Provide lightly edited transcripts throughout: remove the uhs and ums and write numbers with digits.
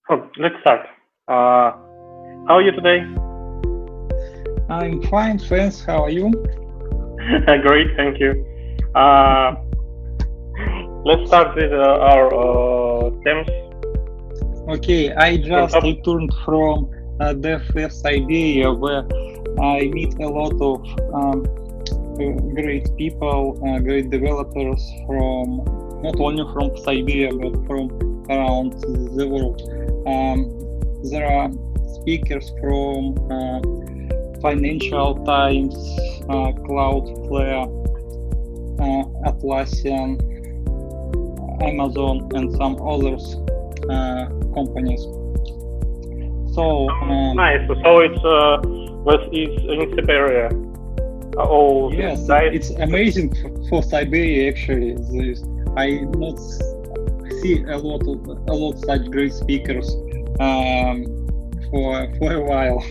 Let's start. How are you today? I'm fine, thanks. How are you? Great, thank you. Uh, let's start with our themes. Okay, I From just top. returned from DevFest Iberia, where I meet a lot of great people, great developers from not only from Siberia but from around the world. There are speakers from Financial Times, Cloudflare, Atlassian, Amazon, and some others companies. So Nice. So it's in Siberia. All yes, guys. it's amazing for Siberia actually. I not see a lot such great speakers for a while.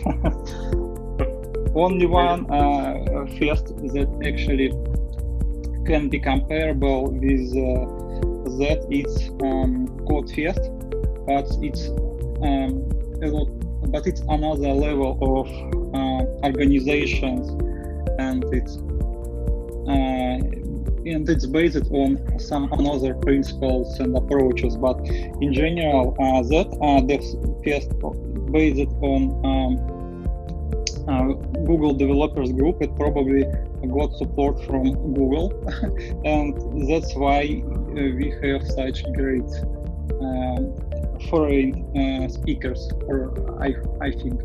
Only one fest that actually can be comparable with that it's Codefest, but it's a lot, but it's another level of organizations, and it's based on some another principles and approaches. But in general, that Fest based on Google Developers Group. It probably got support from Google, and that's why we have such great foreign speakers. Or I think.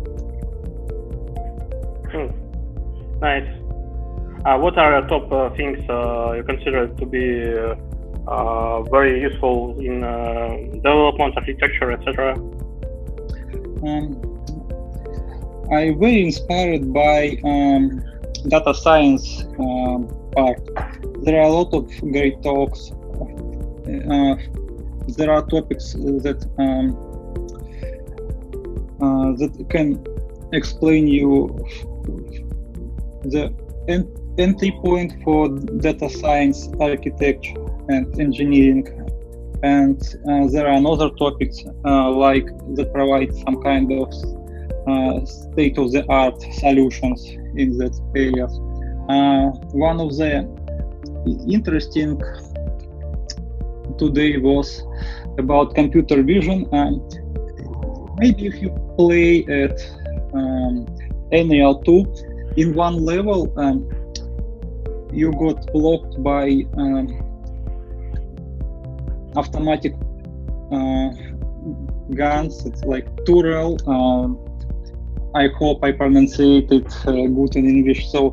Nice. What are the top things you consider to be very useful in development, architecture, etc.? I'm very inspired by data science part. There are a lot of great talks. There are topics that that can explain you the entry point for data science, architecture, and engineering. And there are other topics like that provide some kind of state-of-the-art solutions in that area. One of the interesting today was about computer vision. Maybe if you play at NL2, in one level you got blocked by automatic guns. It's like Turel. I hope I pronunciate it good in English. So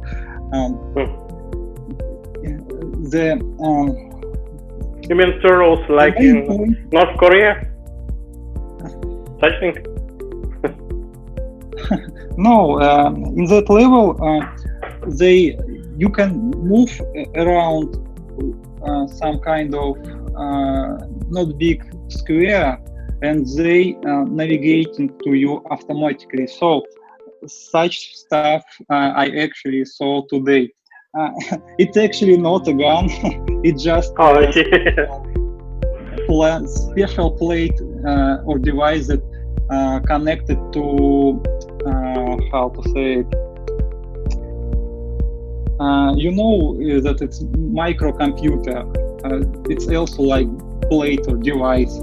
You mean turtles like in North Korea? Such thing? No, in that level, you can move around some kind of not big square, and they navigating to you automatically. So such stuff I actually saw today. It's actually not a gun. It's just a special plate or device that connected to how to say it. You know that it's microcomputer. It's also like plate or device.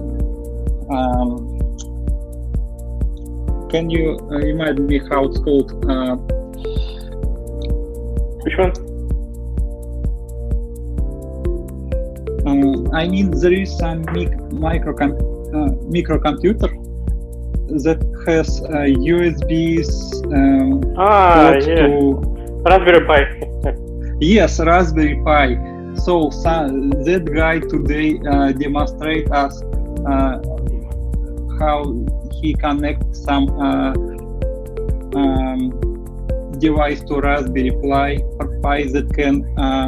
Can you remind me how it's called? Which one? I mean, there is some microcomputer that has USBs port yeah. to Raspberry Pi. yes, Raspberry Pi. So that guy today demonstrate us how he connects some device to Raspberry Pi that can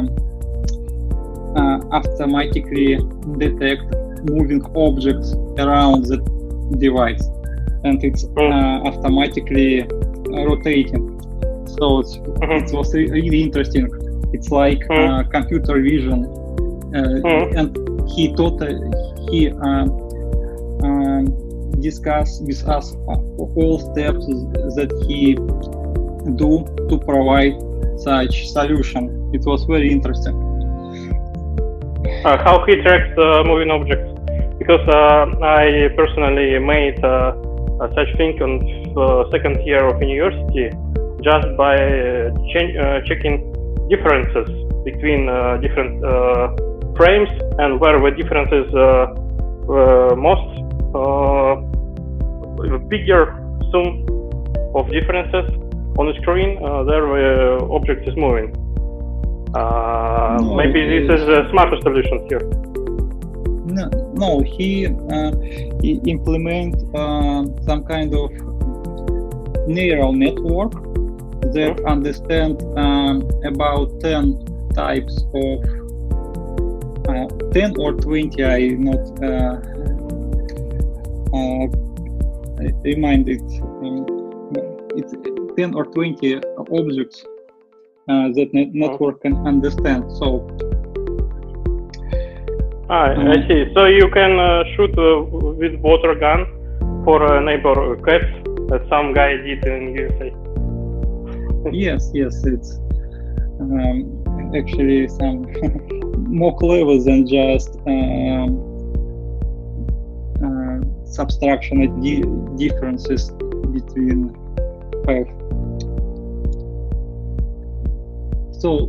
automatically detect moving objects around the device, and it's automatically rotating. So it was really interesting. It's like computer vision, and he discuss with us all steps that he do to provide such solution. It was very interesting. How he tracks moving objects? Because I personally made such thing on second year of university just by checking differences between different frames, and where the differences most bigger sum of differences on the screen, there object is moving. Maybe this is a smarter solution here. No, he implement some kind of neural network that understand about 10 types of 10 or 20. I not remind it. It's 10 or 20 objects that network can understand. So I see. So you can shoot with water gun for a neighbor cat that some guy did in USA. Yes, it's actually some more clever than just subtraction of differences between path. So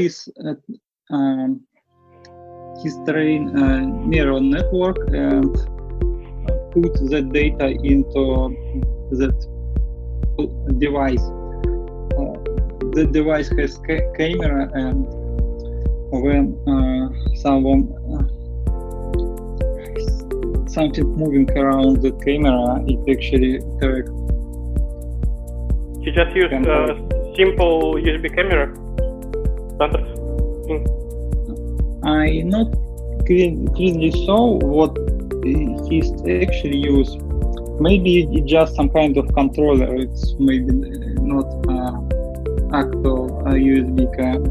he's trained neural network and put that data into that device. The device has camera, and when something moving around the camera, it actually tracks. You just use simple USB camera? Standard? I not clearly saw what he's actually used. Maybe it's just some kind of controller. It's maybe not actual USB cam.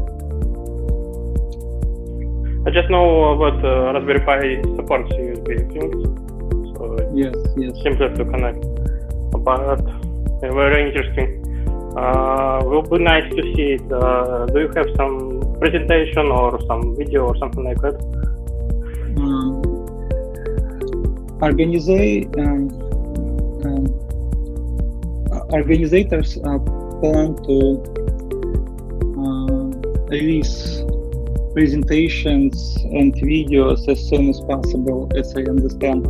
I just know that Raspberry Pi supports USB things, so yes, simpler to connect. But very interesting. Will be nice to see it. Do you have some presentation or some video or something like that? Organizers plan to release presentations and videos as soon as possible, as I understand.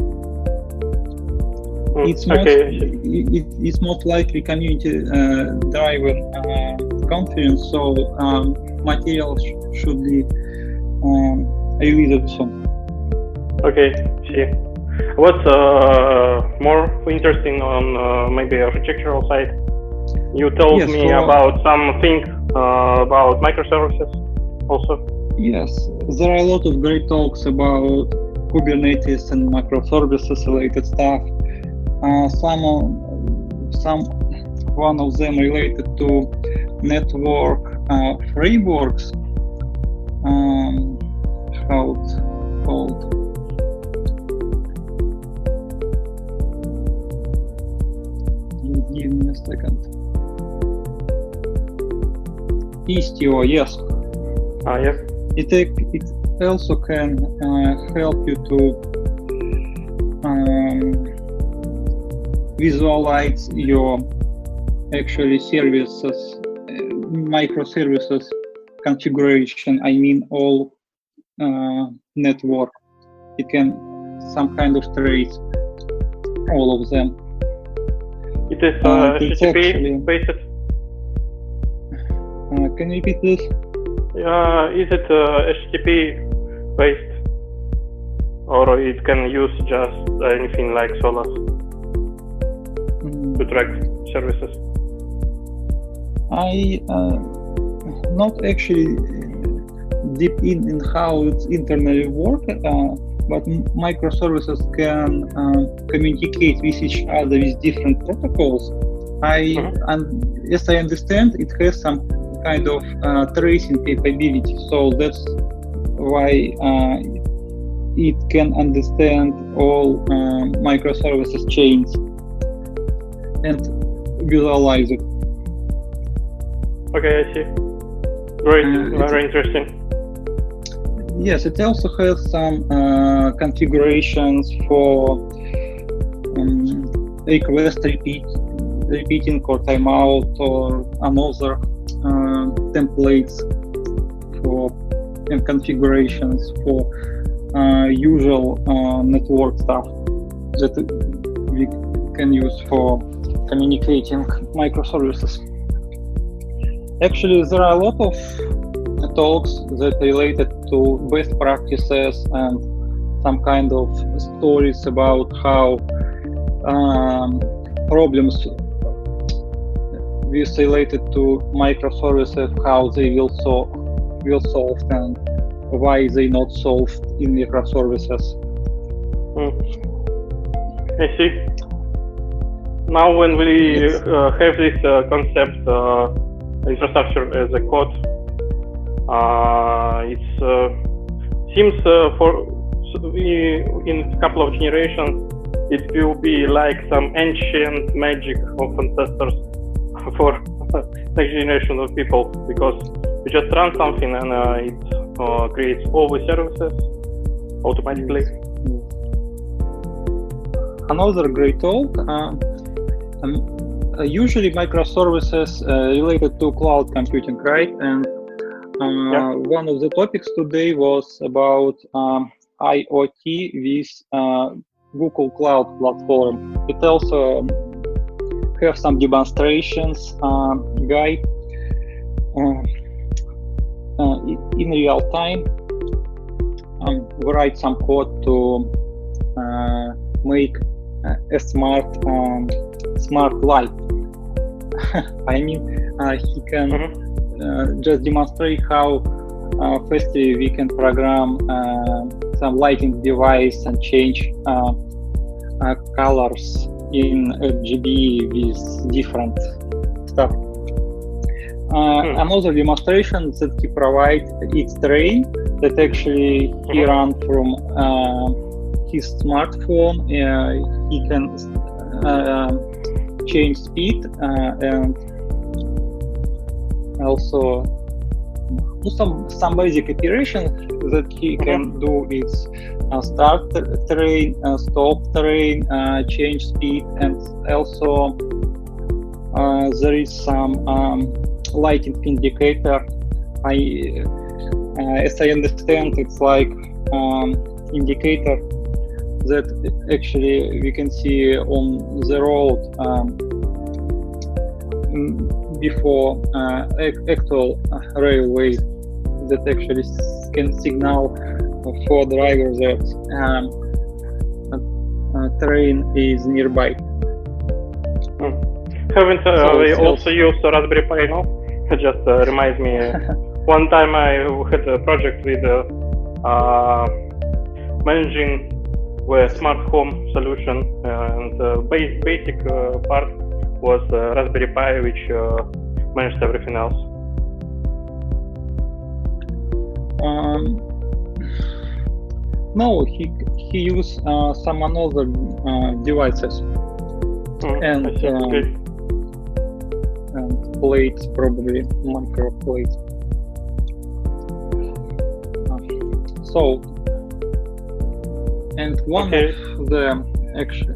It's most likely community-driven conference, so materials should be released soon. Okay, see. What's more interesting on maybe architectural side? You told me about something about microservices also. Yes, there are a lot of great talks about Kubernetes and microservices related stuff. One of them related to network frameworks. How it's called? Give me a second. Istio, yes. Yes. It also can help you to visualize your actually services, microservices configuration. I mean all network. It can some kind of trace all of them. It is HTTP based. Can you repeat this? Is it HTTP based, or it can use just anything like Solus to track services? I not actually deep in how it's internally work, but microservices can communicate with each other with different protocols. And as I understand, it has some kind of tracing capability. So that's why it can understand all microservices chains and visualize it. Okay, I see. Great, very interesting. Yes, it also has some configurations for request repeating or timeout or another templates for and configurations for usual network stuff that we can use for communicating microservices. Actually, there are a lot of talks that related to best practices and some kind of stories about how problems with related to microservices, how they will solved and why they not solved in microservices. I see. Now, when we have this concept, infrastructure as a code, it seems in a couple of generations, it will be like some ancient magic of ancestors for next generation of people, because you just run something and it creates all the services automatically. Another great talk. Usually microservices related to cloud computing, right? And one of the topics today was about IoT with Google Cloud Platform. It also have some demonstrations guide in real time. Write some code to make a smart light. I mean, he can just demonstrate how fastly we can program some lighting device and change colors in RGB with different stuff. Another demonstration that he provides X-Train that actually he run from his smartphone. He can change speed and also some basic operations that he can do is start train, stop train, change speed, and also there is some lighting indicator. As I understand, it's like indicator that actually we can see on the road before actual railway, that actually can signal for driver that train is nearby. Haven't they also used Raspberry Pi now? It just reminds me. One time I had a project with managing the smart home solution, and the basic part was Raspberry Pi, which managed everything else. No, he used some other devices and plates, probably micro plates. So, and one of the actually.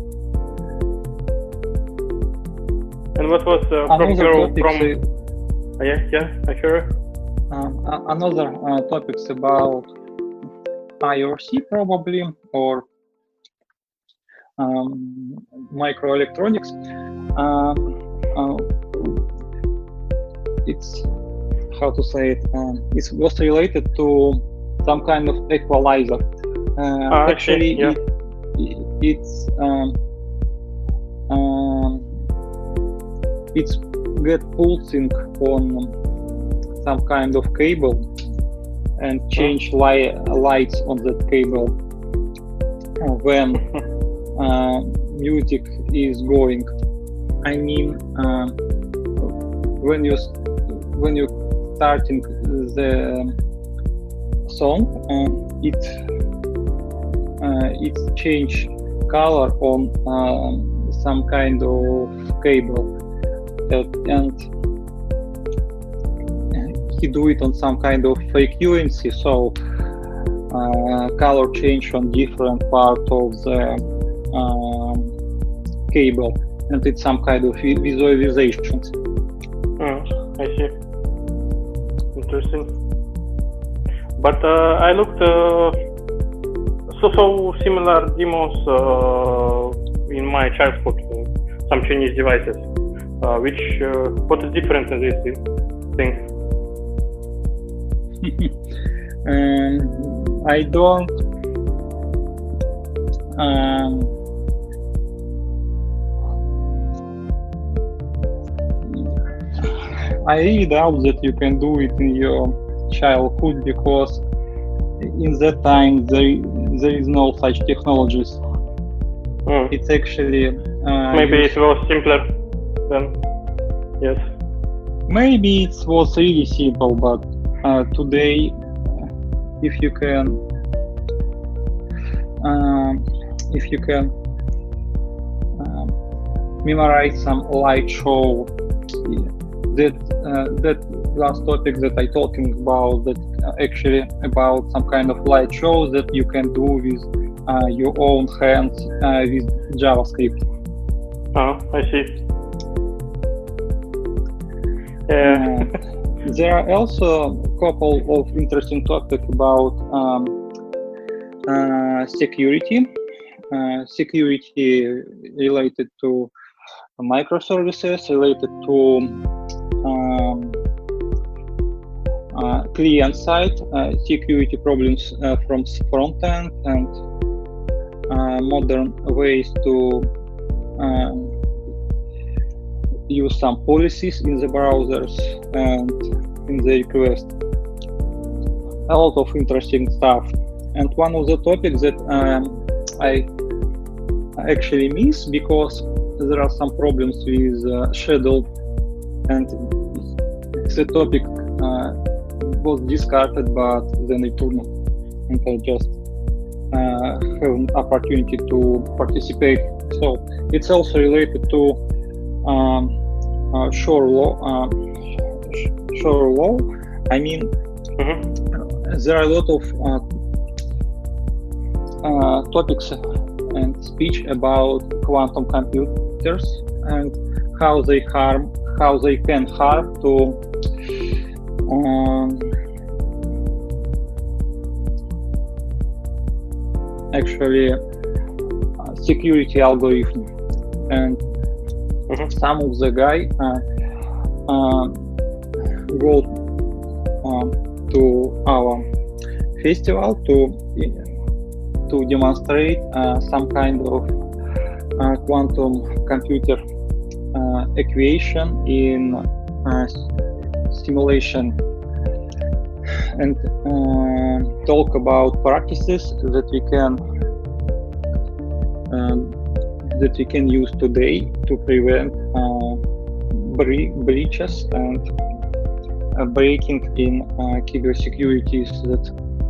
And what was from? Yeah, I hear. Another topics about IRC probably, or microelectronics. It's how to say it. It was related to some kind of equalizer. Actually, yeah. it's get pulsing on some kind of cable and change lights on that cable when music is going. I mean, when you starting the song, it it's change color on some kind of cable, and he do it on some kind of frequency, so color change on different part of the cable, and it's some kind of visualizations. I see. Interesting. But I looked so similar demos in my childhood, some Chinese devices. What is different in this thing? I don't. I really doubt that you can do it in your childhood, because in that time there is no such technologies. It's actually maybe it was simpler then. Yes. Maybe it was really simple, but today, if you can memorize some light show, that last topic that I talking about, that actually about some kind of light shows that you can do with your own hands with JavaScript. I see. There are also a couple of interesting topics about security. Security related to microservices, related to client side, security problems from front end, and modern ways to use some policies in the browsers and in the request. A lot of interesting stuff. And one of the topics that I actually miss, because there are some problems with Shadow, and the topic was discarded, but then returned, and I just have an opportunity to participate. So it's also related to Shore law. I mean, there are a lot of topics and speech about quantum computers and how they can harm to actually security algorithm. And some of the guy go to our festival to demonstrate some kind of quantum computer equation in simulation, and talk about practices that we can use today to prevent breaches and breaking in cybersecurities that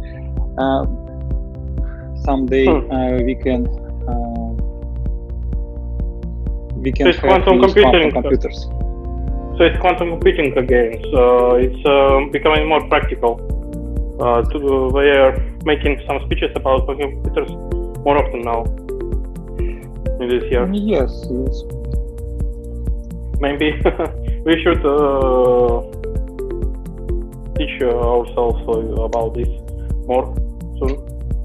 someday we can so have quantum computers. So it's quantum computing again. So it's becoming more practical. We are making some speeches about quantum computers more often now in this year. Yes. Maybe we should teach ourselves about this more soon.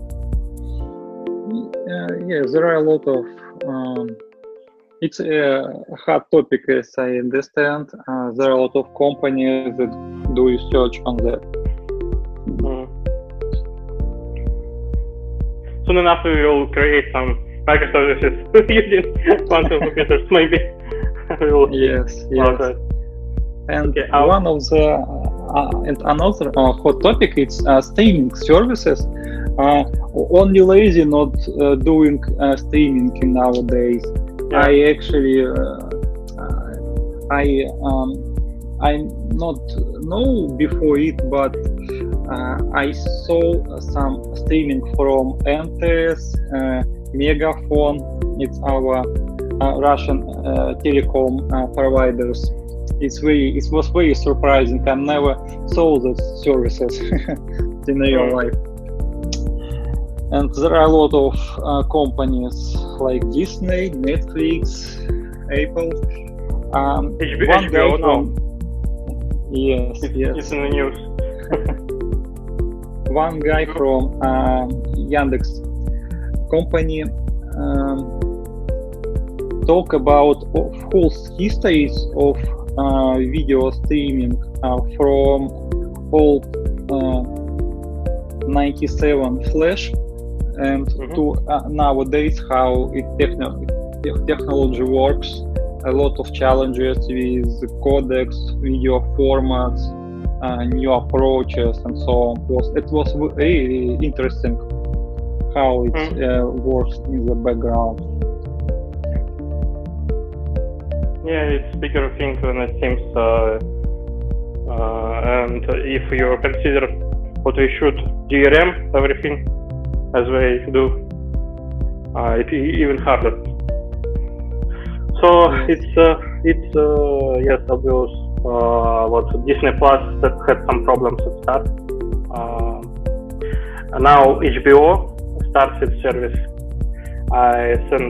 Yes, there are a lot of. It's a hot topic, as I understand. There are a lot of companies that do research on that. Soon enough, we will create some microservices using quantum computers. Maybe. Yes. And okay, one of the and another hot topic is streaming services. Only lazy not doing streaming nowadays. Yeah. I actually I not know before it, but I saw some streaming from MTS, Megafon. It's our Russian telecom providers. It was very surprising. I never saw those services in real life. And there are a lot of companies like Disney, Netflix, Apple. HBO now. Yes. It's in the news. One guy from Yandex company talk about whole histories of video streaming from old 97 Flash and to nowadays how technology works. A lot of challenges with codecs, video formats, new approaches, and so on. It was really interesting how it works in the background. Yeah, it's bigger thing than it seems. And if you consider what we should DRM everything as we do, it's even harder. So it's yes, obvious. What Disney Plus that had some problems at start. Now HBO starts its service. I sent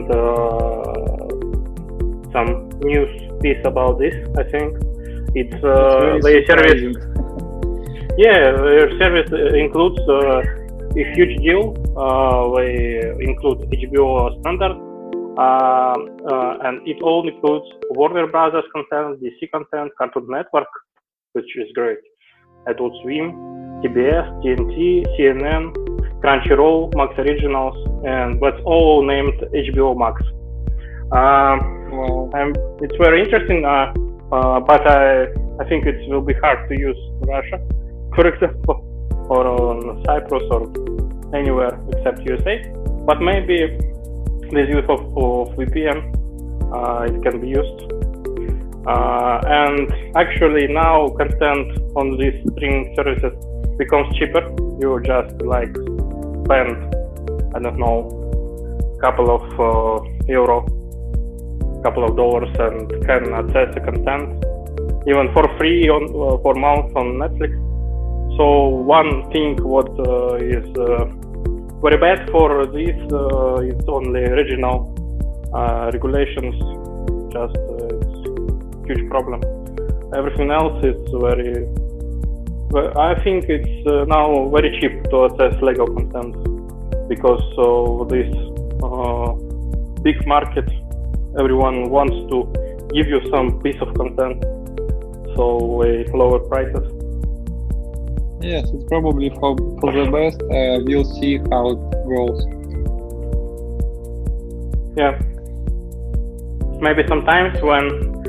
some news piece about this. I think it's their service. Yeah, their service includes a huge deal. They include HBO standard. And it all includes Warner Brothers content, DC content, Cartoon Network, which is great, Adult Swim, TBS, TNT, CNN, Crunchyroll, Max Originals, and that's all named HBO Max. It's very interesting, but I think it will be hard to use in Russia, for example, or on Cyprus or anywhere except USA. But maybe with use of VPN, it can be used. And actually now content on these streaming services becomes cheaper. You just like spend, I don't know, couple of euro, couple of dollars and can access the content even for free for month on Netflix. So one thing what is very bad for this it's only regional regulations. Just it's huge problem. Everything else is very. I think it's now very cheap to access legal content because of this big market. Everyone wants to give you some piece of content, so lower prices. Yes, it's probably for the best. We'll see how it goes. Yeah. Maybe sometimes when,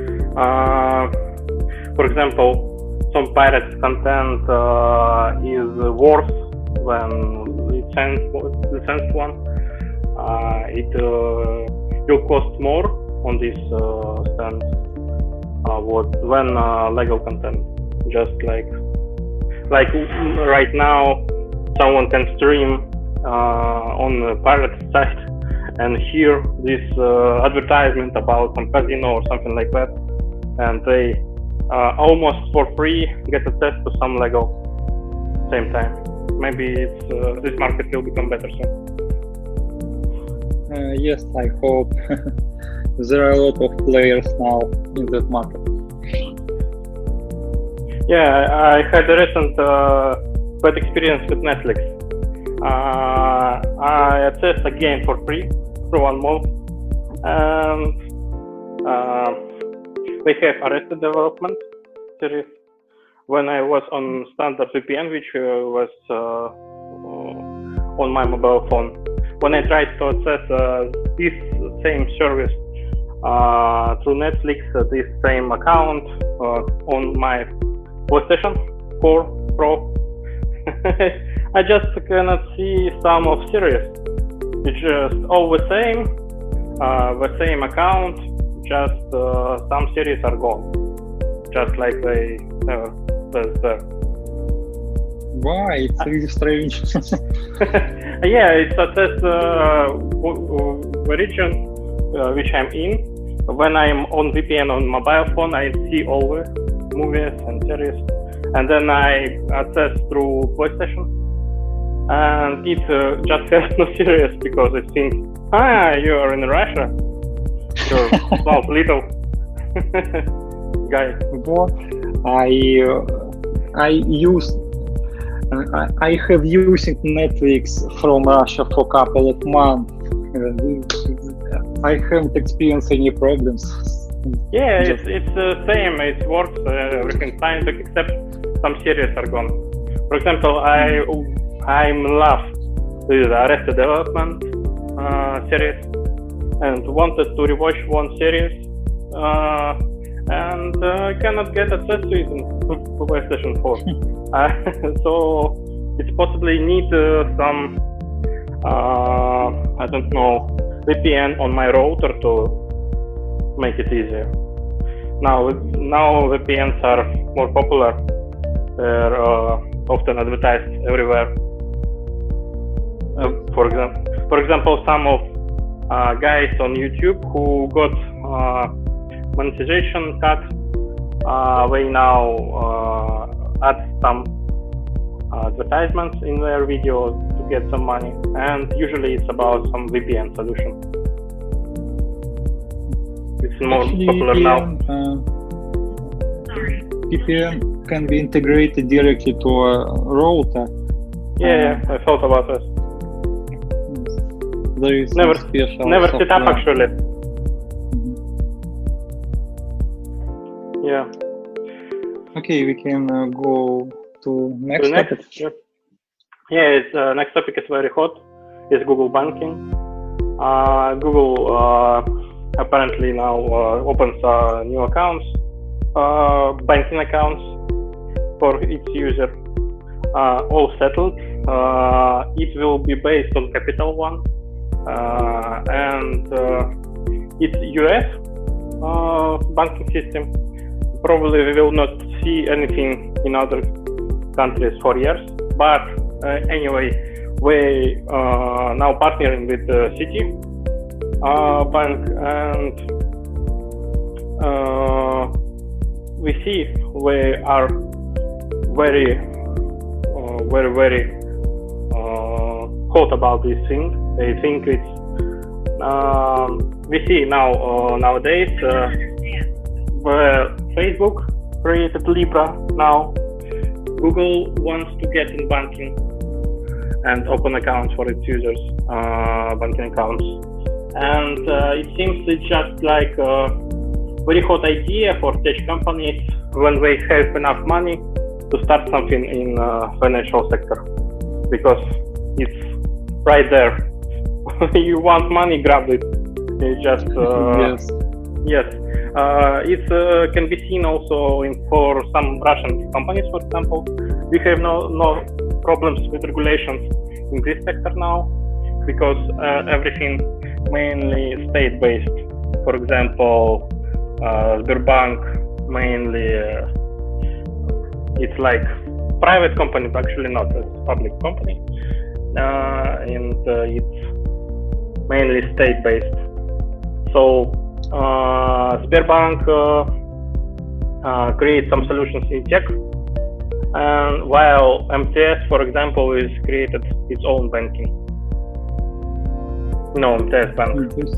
for example, some pirate content is worse than licensed one, it will cost more on this stand when legal content. Just like right now, someone can stream on the pirate site and hear this advertisement about some casino or something like that, and they almost for free get access to some legal same time. Maybe this market will become better soon. Yes, I hope. There are a lot of players now in that market. Yeah, I had a recent bad experience with Netflix. I accessed a game for free for 1 month, and they have Arrested Development series. When I was on standard VPN, which was on my mobile phone, when I tried to access this same service through Netflix, this same account on my PlayStation 4 Pro, I just cannot see some of series. It's just all the same account, just some series are gone, just like they never was there. Why? It's really strange. Yeah, it's assess the region which I'm in. When I'm on VPN on mobile phone, I see all the movies and series, and then I access through PlayStation, and it just has no serious because it thinks, you are in Russia, you're small little guy. What? I have used Netflix from Russia for a couple of months. I haven't experienced any problems. Yeah, it's the same. It works everything fine, except some series are gone. For example, I'm love with Arrested Development series and wanted to rewatch one series, and I cannot get access to it on PlayStation 4. So it's possibly need some I don't know, VPN on my router to make it easier. Now VPNs are more popular. They're often advertised everywhere. For example, some of guys on YouTube who got monetization cut, they now add some advertisements in their videos to get some money, and usually it's about some VPN solution. It's more popular now. VPN can be integrated directly to a router. Yeah, I thought about this. There is never set up actually. Yeah. Okay, we can go to next topic. Yeah, next topic is very hot. It's Google Banking. Google apparently now opens new accounts, banking accounts for its user. All settled. It will be based on Capital One, and it's US banking system. Probably we will not see anything in other countries for years, but anyway, we now partnering with Citi Bank, and we see we are very hot about this thing. They think it's we see now nowadays where Facebook created Libra. Now Google wants to get in banking and open accounts for its users, banking accounts, and it seems it's just like a very hot idea for tech companies when they have enough money to start something in financial sector, because it's right there. You want money, grab it. It's just yes. It can be seen also for some Russian companies, for example. We have no problems with regulations in this sector now, because everything mainly state-based. For example, Sberbank mainly it's like private company, but actually not a public company, and it's mainly state-based. So Sberbank creates some solutions in tech, and while MTS, for example, is created its own banking. No, MTS Bank.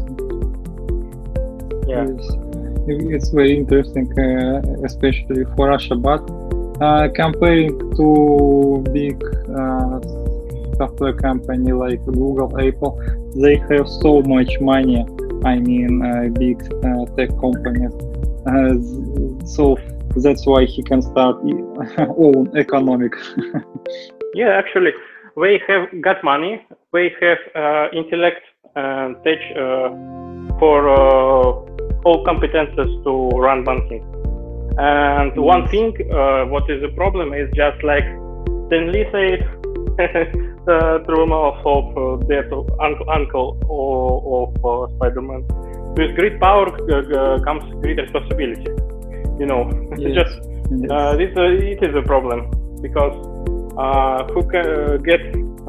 Yeah. It's very interesting, especially for Russia. But comparing to big software company like Google, Apple, they have so much money. I mean, big tech companies. So that's why he can start own economic. Yeah, actually, they have got money. They have intellect and tech for all competences to run banking. And one thing, what is the problem is just like Stan Lee said, the rumor of death of uncle of Spider-Man. With great power comes great responsibility. You know, yes. just it is a problem, because who can get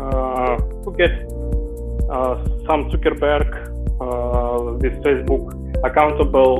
some Zuckerberg with Facebook accountable,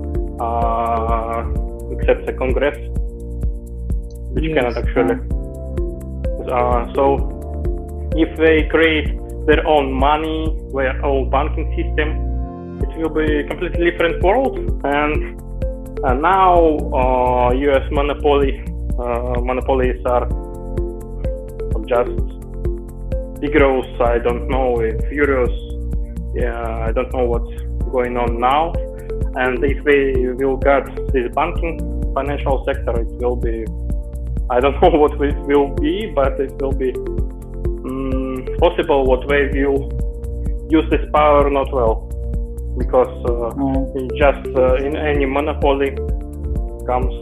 except the Congress, which cannot actually. So if they create their own money, their own banking system, it will be a completely different world. And now US monopolies are just Tigros. I don't know if Furious. Yeah, I don't know what's going on now. And if they will get this banking financial sector, it will be, I don't know what it will be, but it will be possible what they will use this power not well, because just in any monopoly comes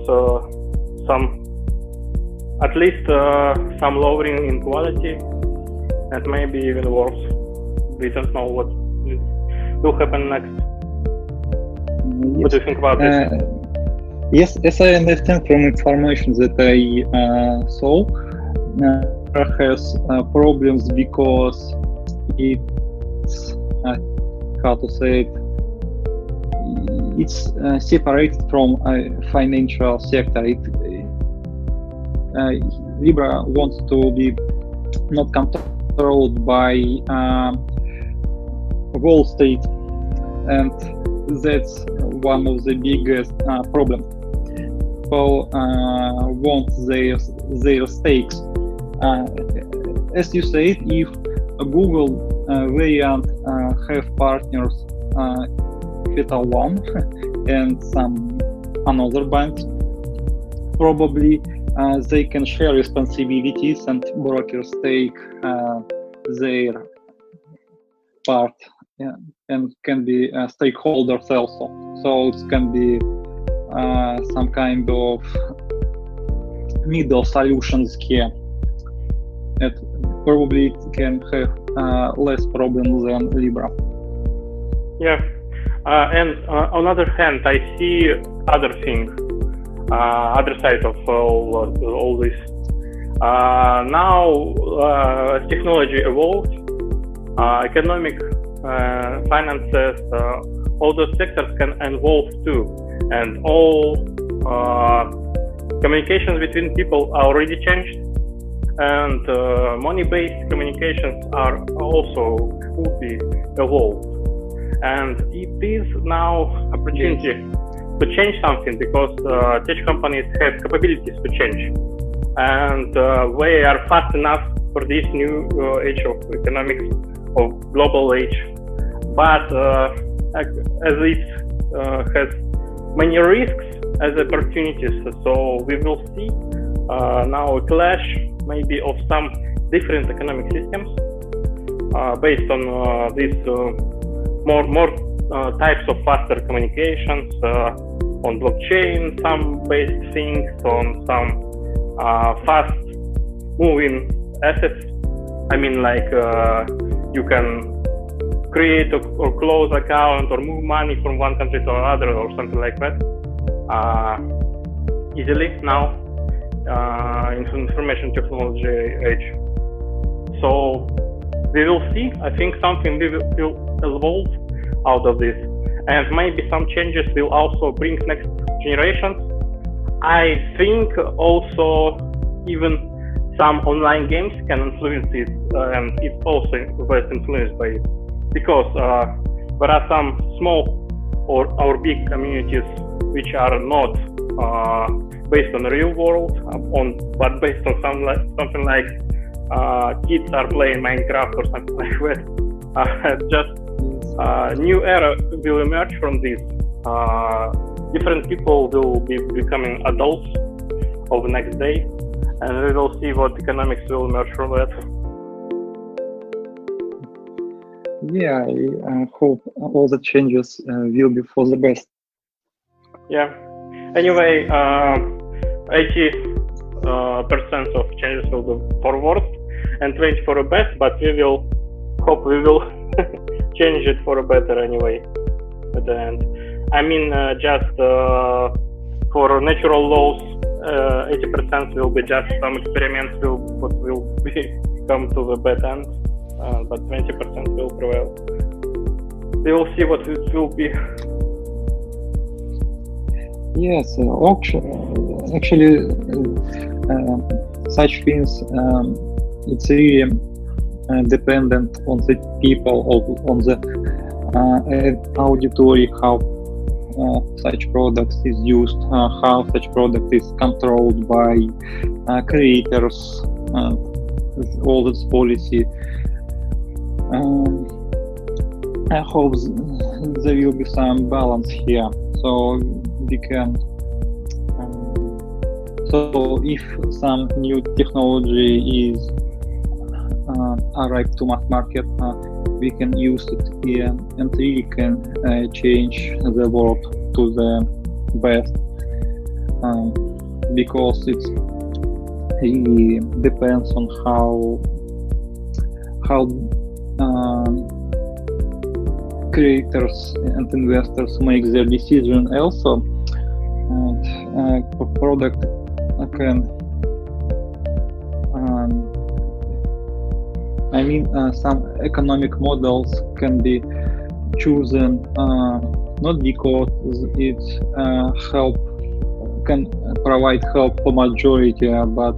at least some lowering in quality, and maybe even worse. We don't know what will happen next. Yes. What do you think about this? Yes, as I understand from information that I saw, has problems because it's how to say it, it's separated from financial sector. Libra wants to be not controlled by Wall Street, and that's one of the biggest problems. People want their stakes. As you said, if Google variant have partners, Capital One and some another banks, probably they can share responsibilities and brokers take their part, and can be stakeholders also. So it can be some kind of middle solutions here. And probably it can have less problems than Libra. Yeah, and on the other hand, I see other thing, other side of all this. Now, as technology evolved, economic, finances, all those sectors can evolve too, and all communications between people are already changed, and money-based communications are also could be evolved. And it is now opportunity to change something, because tech companies have capabilities to change, and they are fast enough for this new age of economics, of global age. But as it has many risks as opportunities, so we will see now a clash maybe of some different economic systems based on these more types of faster communications on blockchain, some based things on some fast moving assets. I mean, like you can create or close account or move money from one country to another or something like that easily now in information technology age. So we will see. I think something will evolve out of this, and maybe some changes will also bring next generations. I think also even some online games can influence it, and it's also influenced by it, because there are some small or big communities which are not based on the real world, but based on something like kids are playing Minecraft or something like that. Just new era will emerge from this. Different people will be becoming adults of the next day, and we will see what economics will emerge from that. Yeah, I hope all the changes will be for the best. Yeah. Anyway, 80% of changes will be for worse and 20% for the best, but we will hope we will change it for a better anyway at the end. I mean, just for natural laws 80% will be just some experiments what will come to the bad end, but 20% will prevail. We will see what it will be. Yes, actually, such things, it's really dependent on the people, on the auditory, how such product is used, how such product is controlled by creators, all this policy. I hope there will be some balance here, so we can. So if some new technology is arrived to mass market, we can use it here and really can change the world to the best, because it really depends on how creators and investors make their decision also, and product can some economic models can be chosen not because it can provide help for majority, but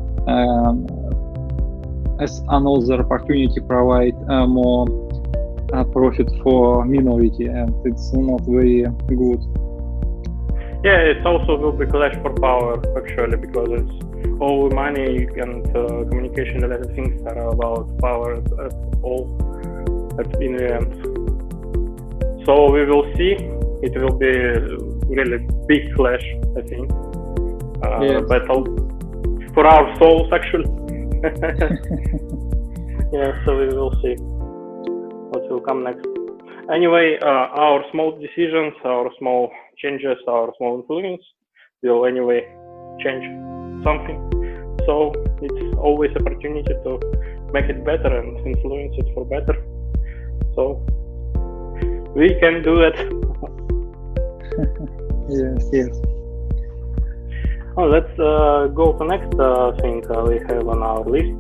as another opportunity provide more profit for minority, and it's not very good. Yeah, it also will be clash for power actually, because it's all money and communication related things are about power at in the end. So we will see. It will be really big clash, I think. Yes. Battle for our souls actually. Yeah, so we will see what will come next. Anyway, our small decisions, our small changes, our small influence will anyway change something. So it's always opportunity to make it better and influence it for better. So we can do it. Yes. Oh, let's go to next thing we have on our list.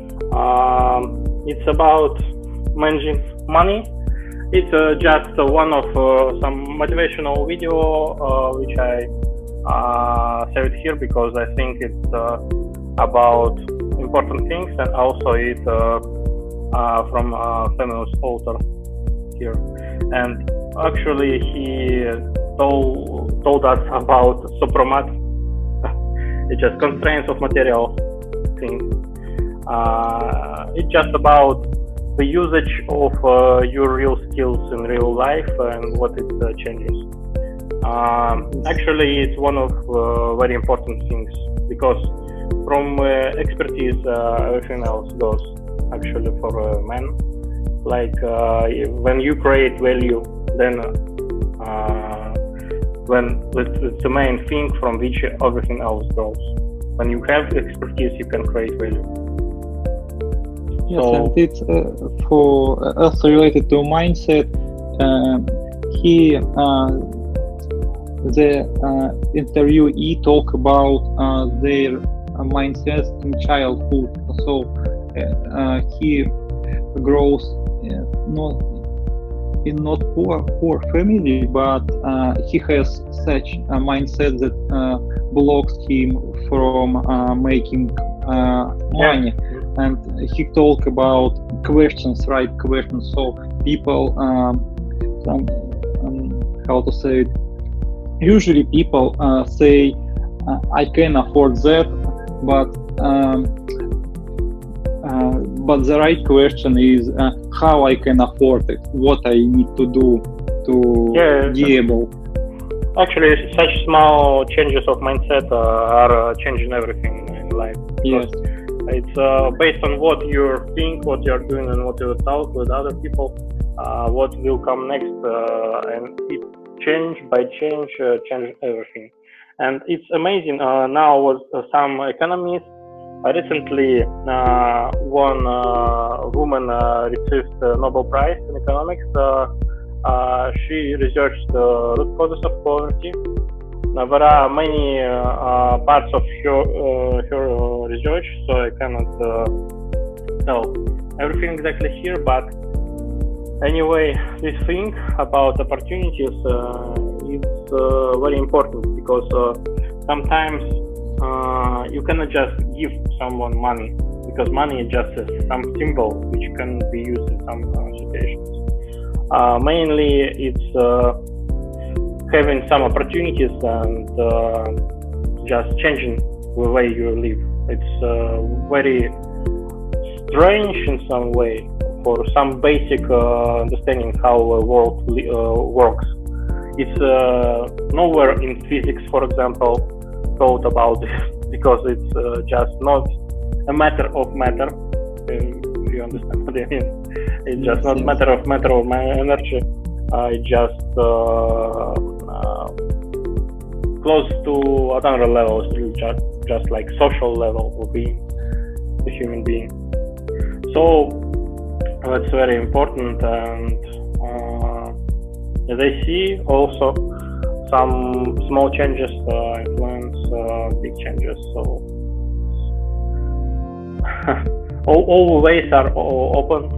It's about managing money. It's just one of some motivational video which I saved here because I think it's about important things, and also it's from a famous author here. And actually he told us about Supramat. It's just constraints of material things. It's just about the usage of your real skills in real life and what it changes. Actually, it's one of very important things, because from expertise, everything else goes actually for men. Like when you create value, then when it's the main thing from which everything else goes. When you have expertise, you can create value. Yes, and it's also related to mindset. The interviewee talk about their mindset in childhood. So he grows not poor family, but he has such a mindset that blocks him from making money. And he talk about right questions. So people, how to say it? Usually people say, I can afford that, but the right question is how I can afford it, what I need to do to be able. Actually, such small changes of mindset are changing everything in life. Yes. It's based on what you think, what you're doing, and what you talk with other people, what will come next, and it change everything. And it's amazing. Now, with some economists, recently one woman received the Nobel Prize in economics. She researched the root causes of poverty, there are many parts of her research, so I cannot tell everything exactly here. But anyway, this thing about opportunities is very important, because sometimes you cannot just give someone money, because money is just some symbol which can be used in some situations. Mainly, it's having some opportunities and just changing the way you live. It's very strange in some way for some basic understanding how a world works. It's nowhere in physics, for example, thought about this, because it's just not a matter of matter. If you understand what I mean, it's just not matter of energy. It's just close to another level, just like social level of being a human being. So that's very important, and as I see also some small changes influence big changes. So all ways are open.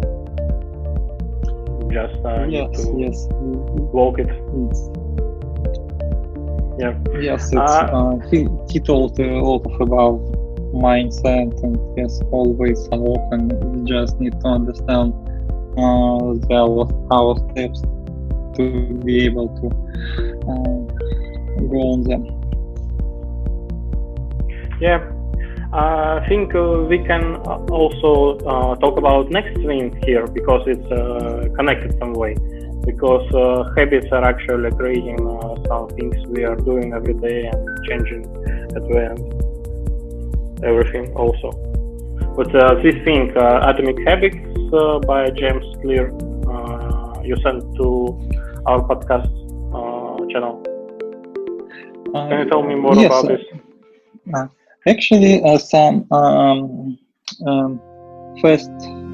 Just need to walk it. Yeah. Yes, it's, he told a lot about mindset, and yes, always are open. We just need to understand our steps to be able to go on them. Yeah. I think we can also talk about next thing here, because it's connected some way. Because habits are actually creating some things we are doing every day and changing at the end everything also. But this thing, Atomic Habits by James Clear, you sent to our podcast channel. Can you tell me more about this? Actually, some first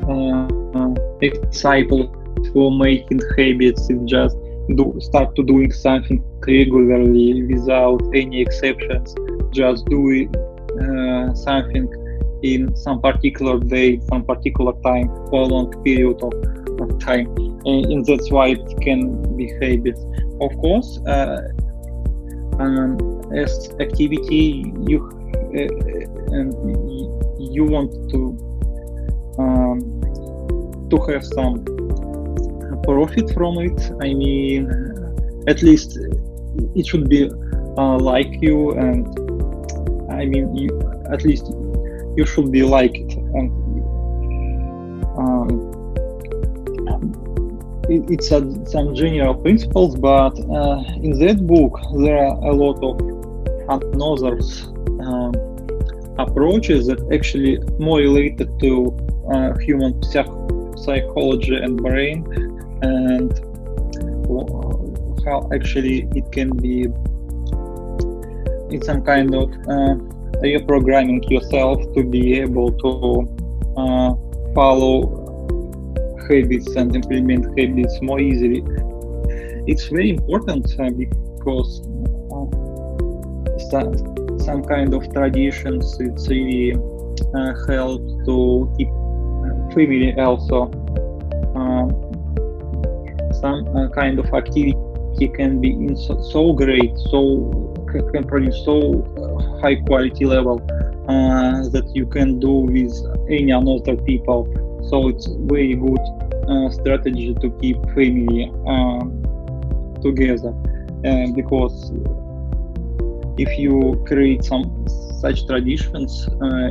example for making habits is just start to doing something regularly without any exceptions. Just do something in some particular day, some particular time, for a long period of time, and that's why it can be habits. Of course, as activity, you want to have some profit from it. I mean, at least it should be like you, and I mean, at least you should be like it. And it's some general principles, but in that book there are a lot of another approaches that actually more related to human psychology and brain, and how actually it can be in some kind of reprogramming yourself to be able to follow habits and implement habits more easily. It's very important because some kind of traditions, it's really help to keep family also. Some kind of activity can be so great, can produce so high quality level that you can do with any other people. So it's very good strategy to keep family together, because if you create some such traditions,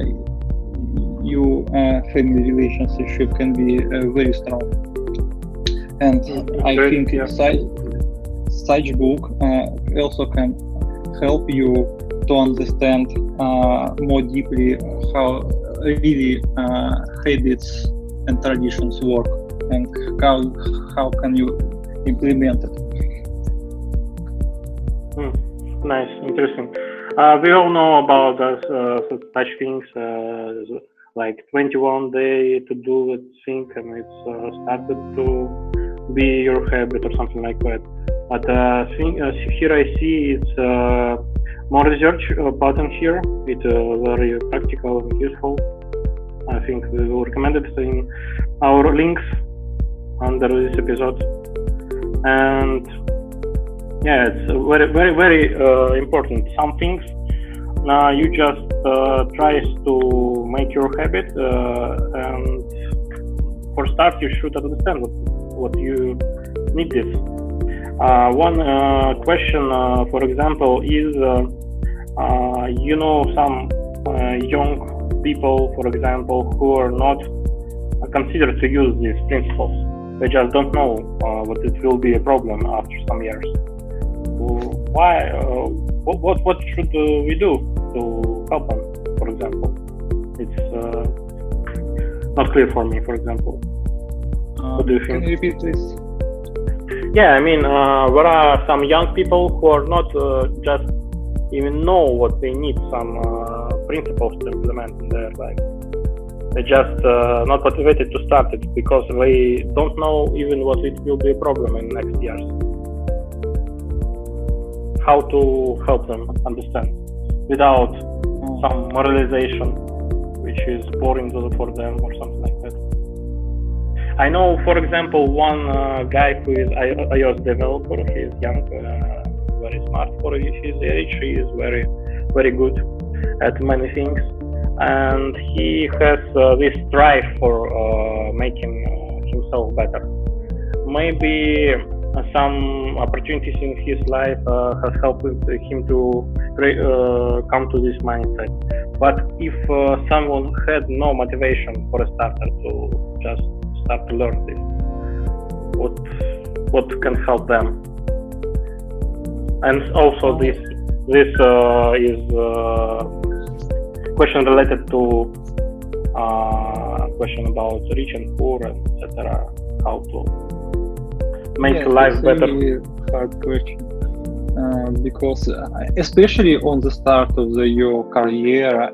your family relationship can be very strong. And I think such book also can help you to understand more deeply how really habits and traditions work, and how can you implement it. Nice, interesting. We all know about such things like 21 day to do it thing, and it's started to be your habit or something like that. But here I see it's more research button here. It's very practical and useful. I think we will recommend it in our links under this episode. And yeah, it's very, very, very important. Some things you just try to make your habit, and for start you should understand what you need this. One question, for example, is some young people, for example, who are not considered to use these principles. They just don't know what it will be a problem after some years. Why? What should we do to help them? For example, it's not clear for me. For example, what do you think? Can you repeat this? Yeah, I mean, there are some young people who are not just even know what they need, some principles to implement in their life. They just not motivated to start it because they don't know even what it will be a problem in next years. How to help them understand without some moralization, which is boring for them or something like that. I know, for example, one guy who is iOS developer. He is young, very smart for his age. He is very, very good at many things, and he has this drive for making himself better. Maybe some opportunities in his life has helped him to come to this mindset. But if someone had no motivation for a starter to just start to learn this, what can help them? And also this is question related to question about rich and poor, and etc. How to make life better. Really hard question, because especially on the start of your career,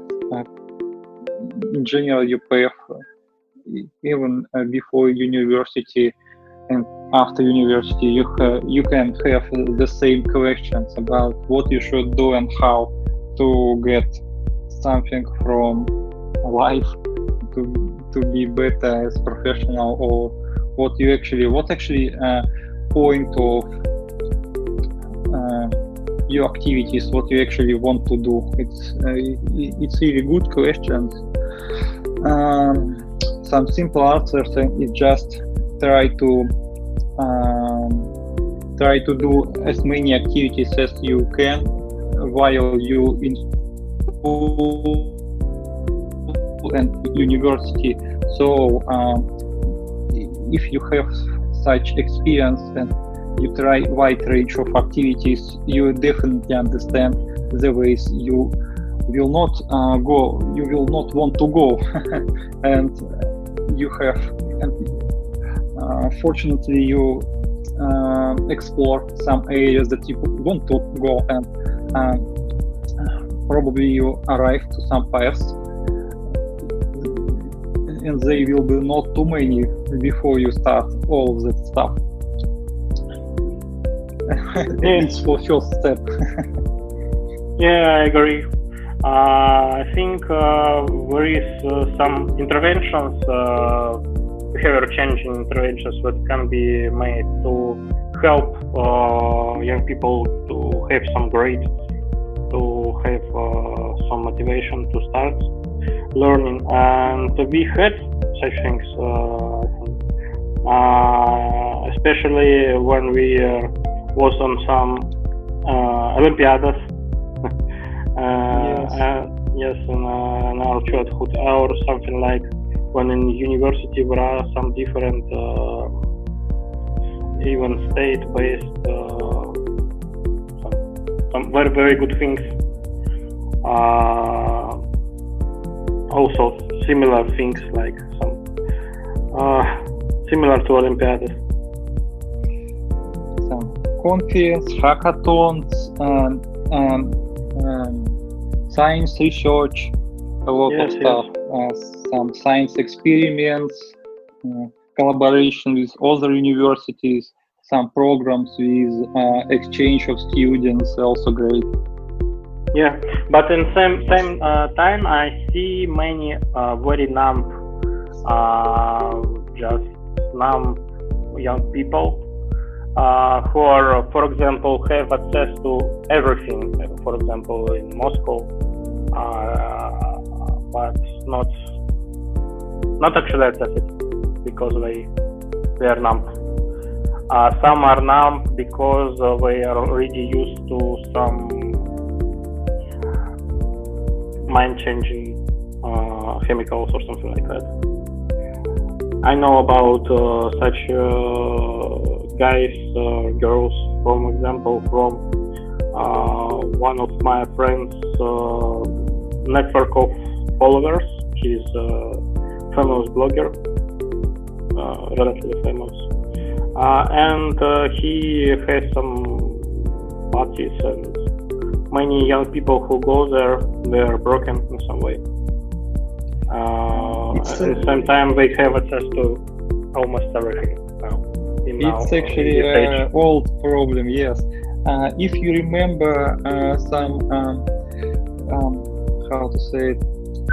in general, you path, even before university and after university, you can have the same questions about what you should do and how to get something from life to be better as professional, or what actually point of your activities, what you actually want to do. It's really good questions. Some simple answers is just try to do as many activities as you can while you in school and university. So if you have such experience and you try wide range of activities, you definitely understand the ways you will not want to go. And you have, fortunately, you explore some areas that you want to go, and probably you arrive to some paths, and they will be not too many before you start all of that stuff. It's for first step. Yeah, I agree. I think there is some interventions, behavior changing interventions that can be made to help young people to have some grades, to have some motivation to start learning. And we had such things, especially when we was on some Olympiadas. Yes, in our childhood, or something like when in university there are some different, even state-based, some very, very good things. Also similar things like some similar to Olympiads. Some conference, hackathons, science research, a lot of stuff, some science experiments, collaboration with other universities, some programs with exchange of students, also great. Yeah, but in same time, I see many very numb, just numb young people who are, for example, have access to everything. For example, in Moscow, but not actually access it because they are numb. Some are numb because they are already used to some mind-changing chemicals or something like that. I know about such guys, girls, for example, from one of my friends' network of followers. He's a famous blogger, relatively famous, and he has some parties, and many young people who go there, they are broken in some way. At the same time, they have access to almost everything now. It's actually an old problem, yes. If you remember some, how to say it,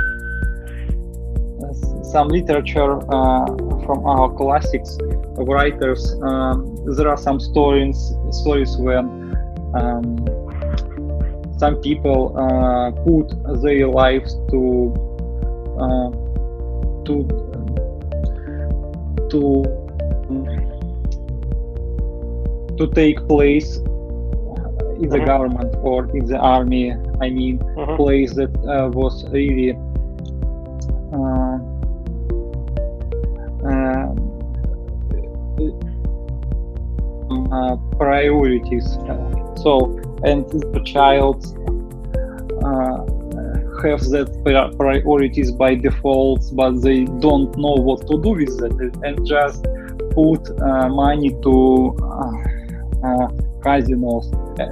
some literature from our classics writers, there are some stories when some people put their lives to take place in the government or in the army. I mean, place that was really priorities. So, and the child have that priorities by default, but they don't know what to do with that, and just put money to casinos.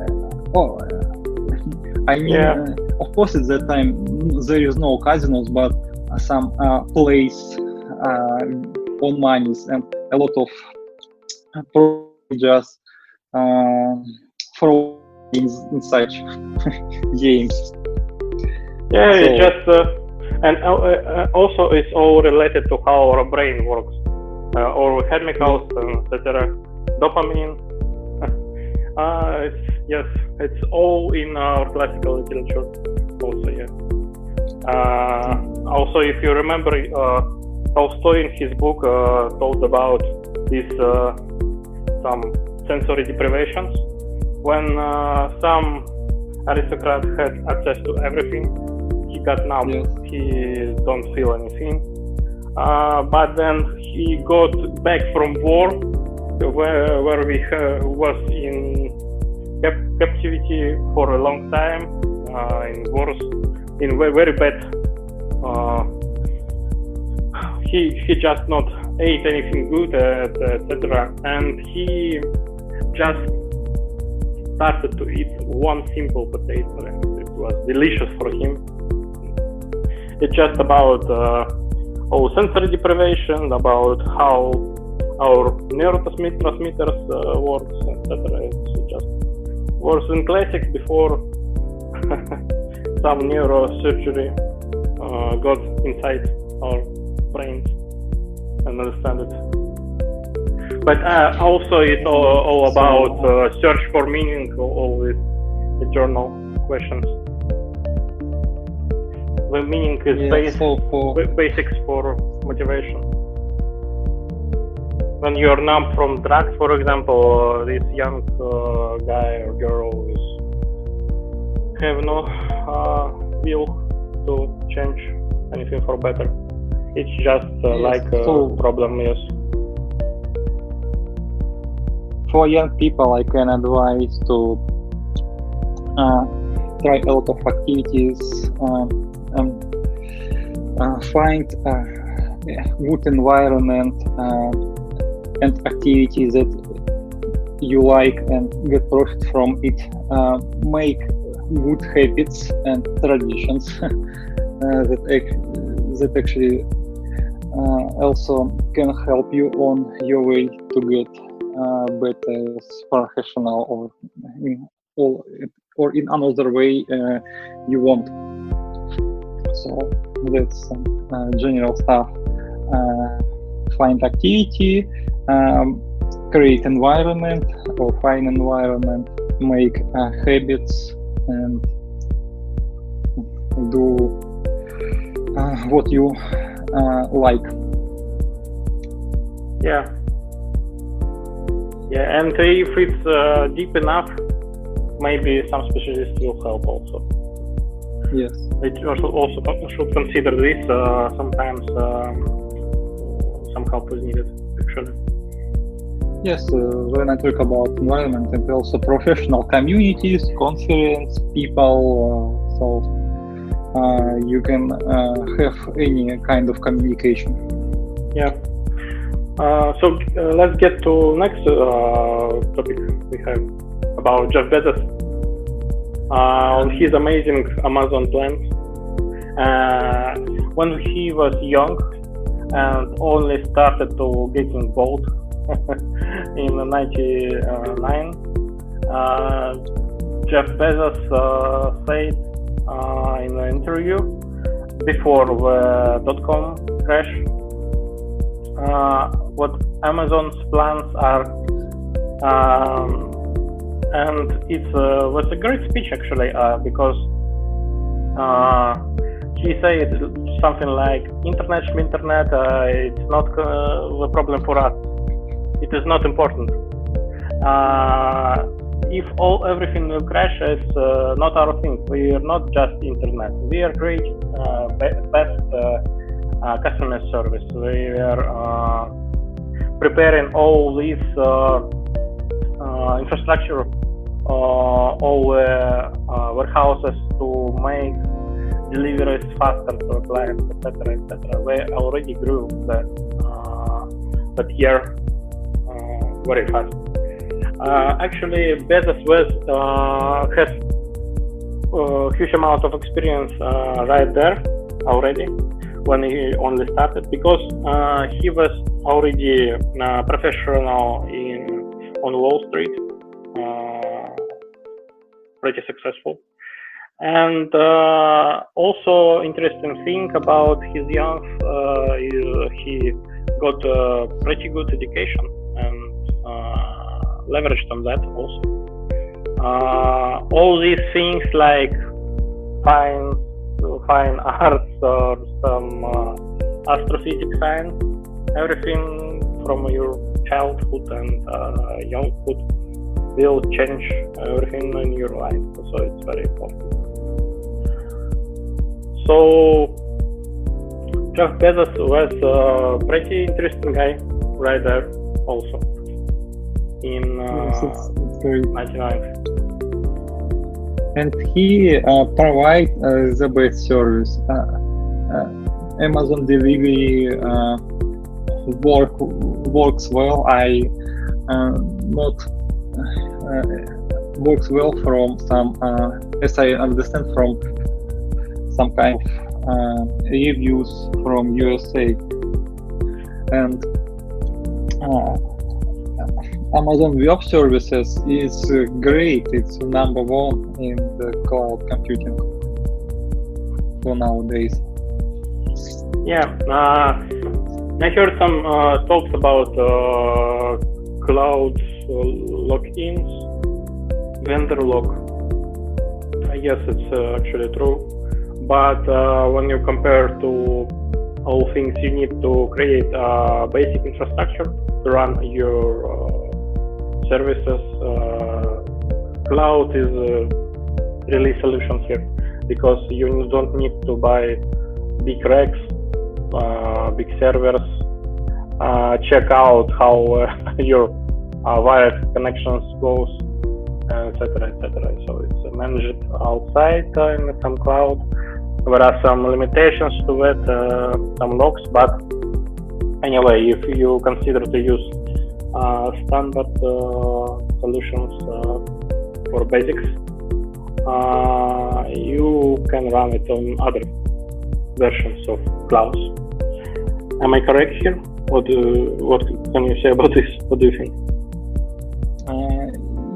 I mean, of course, at that time there is no casinos, but some place on monies, and a lot of just fraud in such games. Yeah, so, it's just and also it's all related to how our brain works, or chemicals, etc. Dopamine. It's all in our classical literature. Also, also, if you remember, Tolstoy in his book told about this some sensory deprivations when some aristocrat had access to everything. He got numb. Yes. He don't feel anything. But then he got back from war, where we was in captivity for a long time, in wars, in very bad. He just not ate anything good, etc. And he just started to eat one simple potato, and it was delicious for him. It's just about sensory deprivation, about how our neurotransmitters works, etc. It's just worse in classics before some neurosurgery got inside our brains and understand it. But also it's all about search for meaning, all these eternal questions. The meaning is basics for motivation. When you are numb from drugs, for example, this young guy or girl have no will to change anything for better. It's just like a problem, yes. For young people, I can advise to try a lot of activities, find a good environment and activities that you like and get profit from it. Make good habits and traditions that actually also can help you on your way to get better as professional or in another way you want. So that's some general stuff. Find activity, create environment or find environment, make habits, and do what you like. Yeah, and if it's deep enough, maybe some specialists will help also. Yes. It also should consider this. Sometimes some help is needed, actually. Yes, when I talk about environment and also professional communities, conference, people, so you can have any kind of communication. Yeah. So let's get to next topic we have about Jeff Bezos on his amazing Amazon plans. When he was young and only started to getting bold in 1999, Jeff Bezos said in an interview before the .com crash what Amazon's plans are, and it was a great speech actually, because he said something like internet, it's not the problem for us. It is not important. If everything will crash, it's not our thing. We are not just internet. We are great, best customer service. We are preparing all this infrastructure, all warehouses to make deliveries faster to clients, etc., etc. We already grew that year very fast. Actually, Bezos has a huge amount of experience right there already when he only started, because he was already professional on Wall Street, pretty successful. And also interesting thing about his young, he got a pretty good education and leveraged on that also. All these things like fine arts or some astrophysics science, everything from your childhood and younghood will change everything in your life. So it's very important. So Jeff Bezos was a pretty interesting guy right there also in 1999. And he provides the best service. Amazon delivery works well. Works well from some, as I understand, from some kind of reviews from USA. And Amazon Web Services is great. It's number one in the cloud computing for nowadays. Yeah, I heard some talks about cloud lock-ins, vendor lock. I guess it's actually true. But when you compare to all things you need to create basic infrastructure to run your services, cloud is really solution here, because you don't need to buy big racks, big servers, check out how your wired connections goes, etc., etc. So it's managed outside in some cloud. There are some limitations to it, some locks, but anyway, if you consider to use standard solutions for basics, you can run it on other versions of clouds. Am I correct here? What can you say about this? What do you think?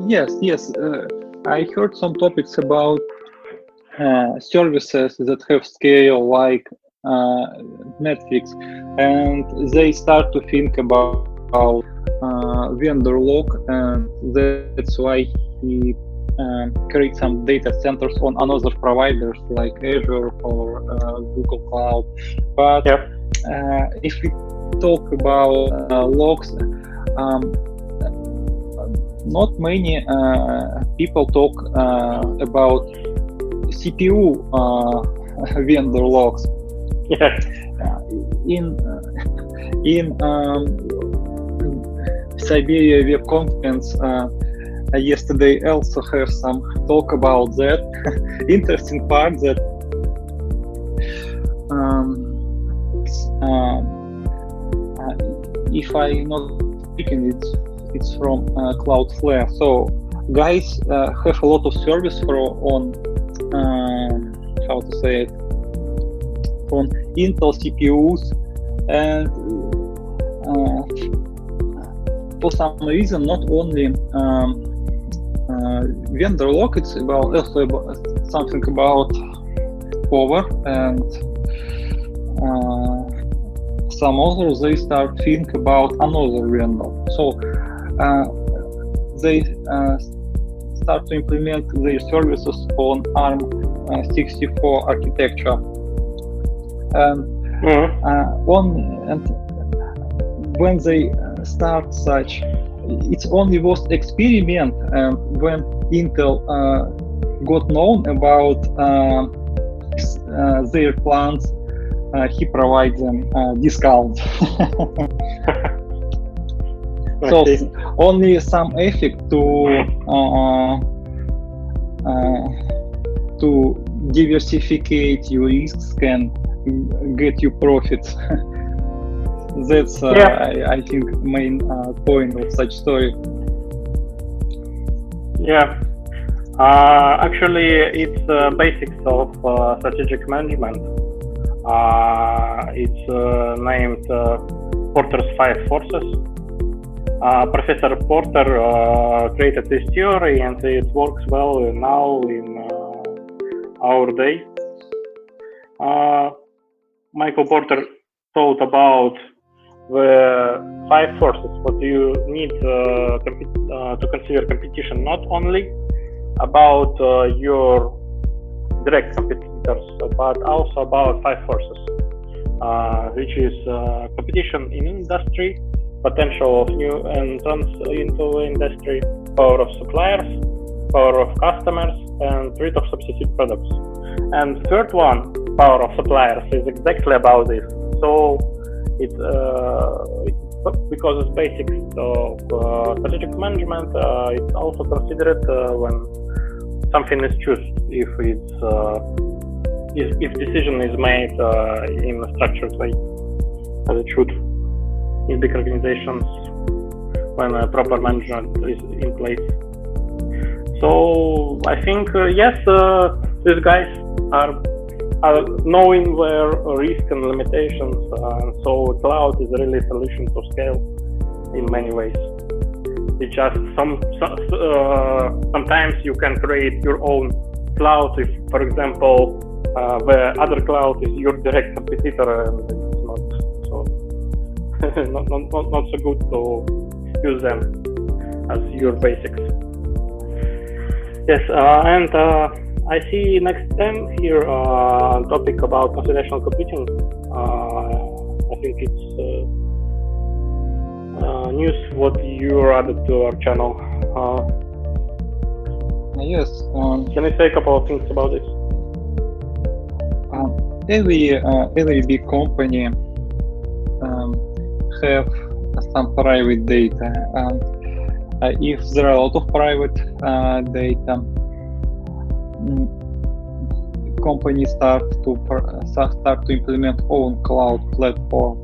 Yes. I heard some topics about services that have scale like Netflix, and they start to think about vendor lock, and that's why he create some data centers on another providers like Azure or Google Cloud. But if we talk about logs, not many people talk about CPU vendor logs. Yeah. In Siberia Web Conference yesterday also have some talk about that. Interesting part that if I'm not mistaken, it's from Cloudflare. So guys have a lot of service on how to say it, on Intel CPUs, and for some reason not only vendor lock, it's also about something about power, and some others they start think about another vendor. So they start to implement their services on ARM64 architecture. And when they start such, it's only was experiment, and when Intel got known about their plans, he provides them discounts. So only some effect to diversificate your risks can get you profits. That's I think main point of such story. Yeah, actually it's basics of strategic management. It's named Porter's 5 Forces. Professor Porter created this theory, and it works well now in our day. Michael Porter thought about the 5 forces, what you need to consider competition, not only about your direct competitors, but also about 5 forces, which is competition in industry, potential of new entrants into the industry, power of suppliers, power of customers, and threat of substitute products. And third one, power of suppliers, is exactly about this. So it's because it's basics of strategic management, it's also considered when something is chosen, if it's if decision is made in a structured way, as it should in big organizations when proper management is in place. So I think yes, these guys are knowing their risk and limitations, so cloud is really a solution to scale in many ways. It's just sometimes you can create your own cloud if, for example, the other cloud is your direct competitor, and it's not so not so good to use them as your basics. Yes, and I see next time here topic about computational computing. I think it's news what you added to our channel. Yes. Can you say a couple of things about this? Every big company have some private data. If there are a lot of private data, companies start to implement own cloud platform,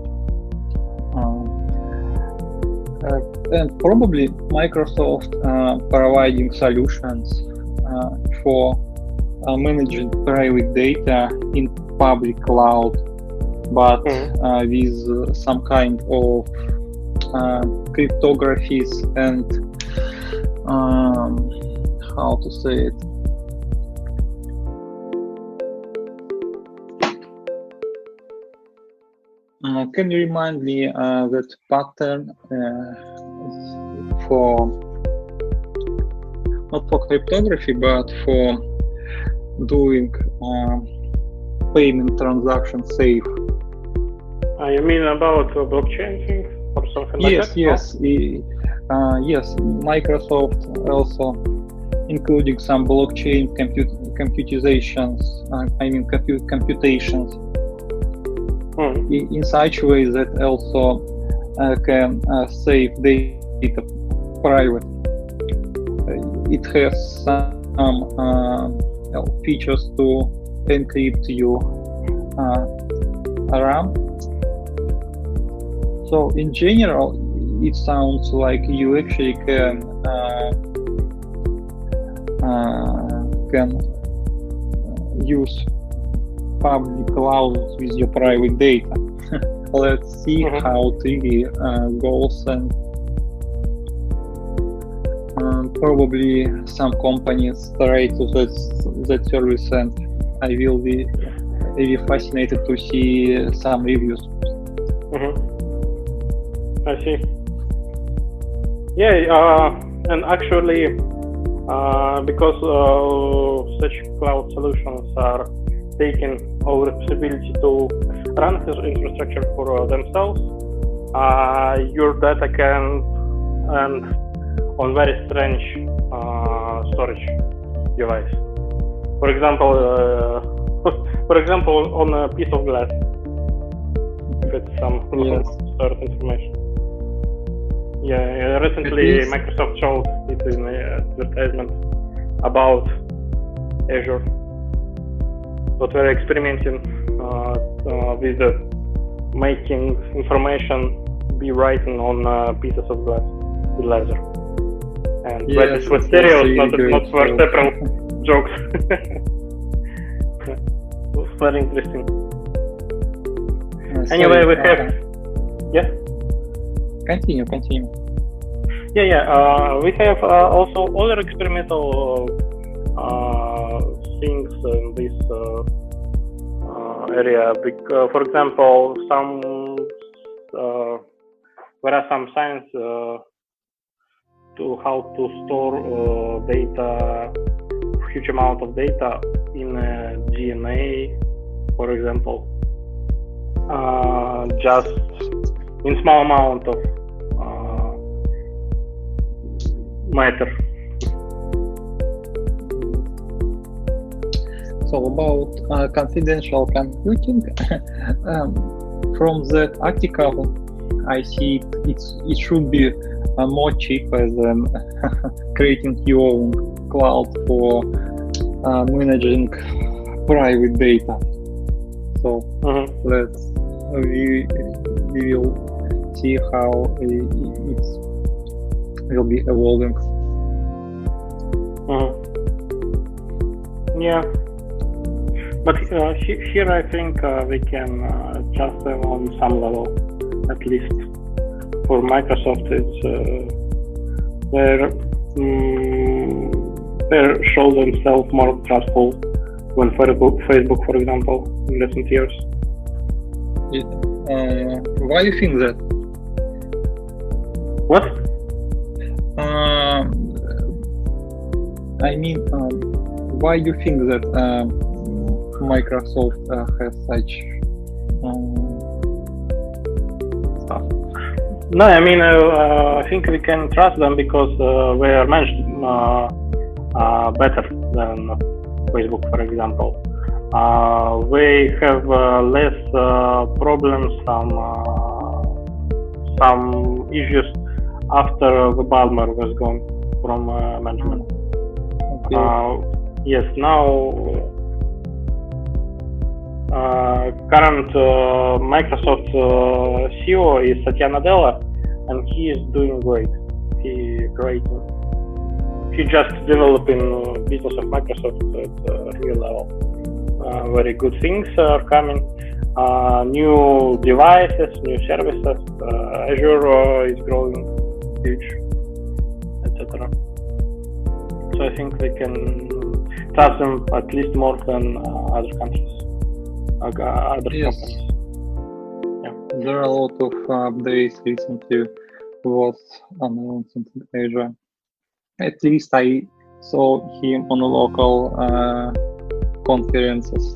and probably Microsoft providing solutions for managing private data in public cloud, but with some kind of cryptographies and how to say it? Can you remind me that pattern for not for cryptography but for doing payment transaction safe? You mean about blockchain thing or something like that? Yes. Yes. Microsoft also including some blockchain computations. Computations. In such way that also can save data private. It has some features to encrypt your RAM. So in general, it sounds like you actually can use public clouds with your private data. Let's see how it really goes, and probably some companies try to that service, and I will be really fascinated to see some reviews. I see. Yeah, and actually, because such cloud solutions are taking our responsibility to run this infrastructure for themselves, your data can end on very strange storage device. For example, on a piece of glass. With some stored information. Yeah, recently Microsoft showed it in an advertisement about Azure. What we're experimenting with making information be written on pieces of glass with laser. And that is for stereos, not for several jokes. It's very interesting. Anyway, we have. Yeah. Continue. Yeah. We have also other experimental things in this area. For example, there are some signs to how to store data, huge amount of data in DNA, for example. Just in small amount of matter. So about confidential computing, from that article, I see it should be more cheaper than creating your own cloud for managing private data. So we will see how it will be evolving. Yeah, but here I think we can just on some level, at least for Microsoft, it's they show themselves more trustful than Facebook, for example, in recent years. Why do you think that? What? I mean, why do you think that Microsoft has such stuff? No, I mean, I think we can trust them because they are managed better than Facebook, for example. They have less problems, some issues after the Ballmer was gone from management. Yes, now current Microsoft CEO is Satya Nadella, and he is doing great. He just developing business of Microsoft at a real level. Very good things are coming. New devices, new services. Azure is growing huge, etc. So I think we can trust them at least more than other countries, other companies. Yeah. There are a lot of updates recently was announced in Asia. At least I saw him on local conferences.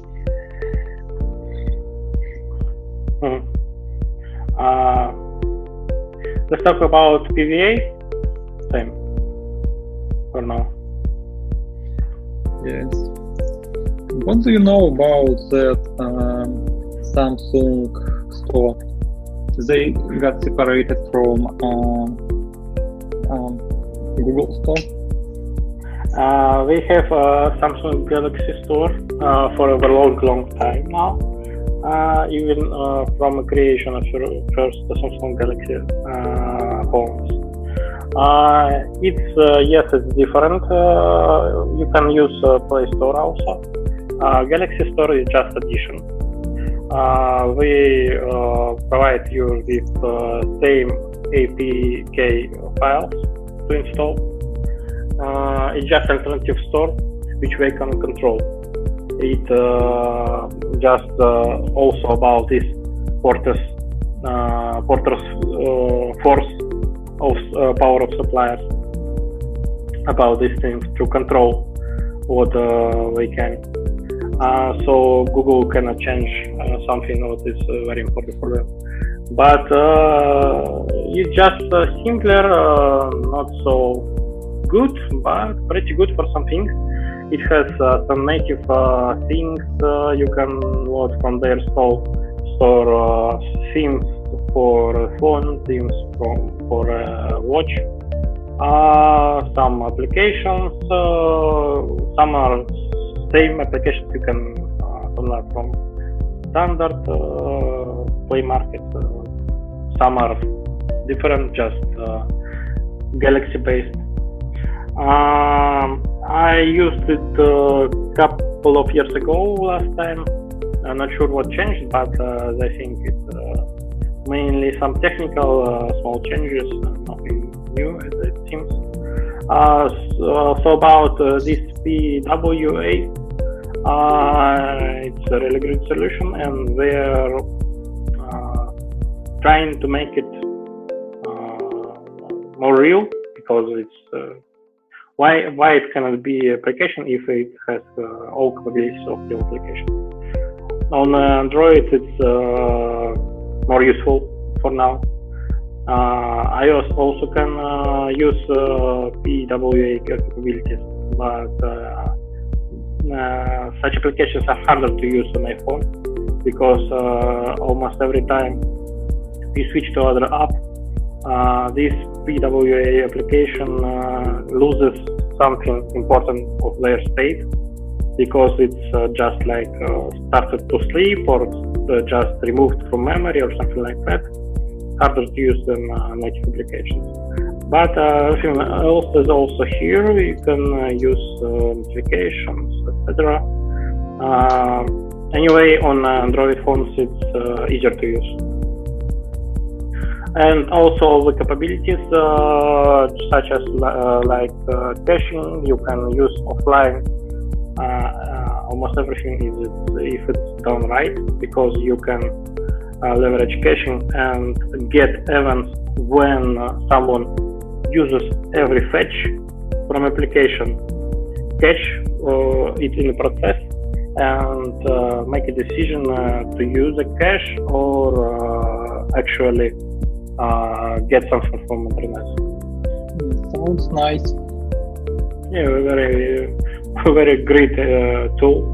Let's talk about PVA. Same for now. Yes. What do you know about that Samsung store? They got separated from Google Store. We have a Samsung Galaxy Store for a long time now. Even from the creation of first Samsung Galaxy phones. It's different. You can use Play Store also. Galaxy Store is just addition. We provide you with same APK files to install. It's just alternative store which we can control. It just also about this Porter's force of power of suppliers about these things to control what we can. So Google cannot change something that is very important for them. But it's just simpler, not so good, but pretty good for something. It has some native things you can load from their store, themes for phone, themes for watch, some applications, some are same applications you can download from standard Play Market. Some are different, just Galaxy based. I used it a couple of years ago last time. I'm not sure what changed, but I think it's mainly some technical small changes, nothing new as it seems. So about this PWA, it's a really great solution, and we're trying to make it more real, because it's why it cannot be application if it has all capabilities of the application. On Android, it's more useful for now. iOS also can use PWA capabilities, but such applications are harder to use on iPhone, because almost every time we switch to other app, this PWA application loses something important of their state, because it's just like started to sleep, or just removed from memory or something like that. Harder to use than native applications. But everything else is also here. You can use notifications, etc. Anyway, on Android phones, it's easier to use. And also the capabilities such as caching, you can use offline. Almost everything is if it's done right, because you can leverage caching and get events when someone uses every fetch from application. Catch it in the process and make a decision to use a cache or actually get something from internet. Sounds nice. Yeah, very great tool.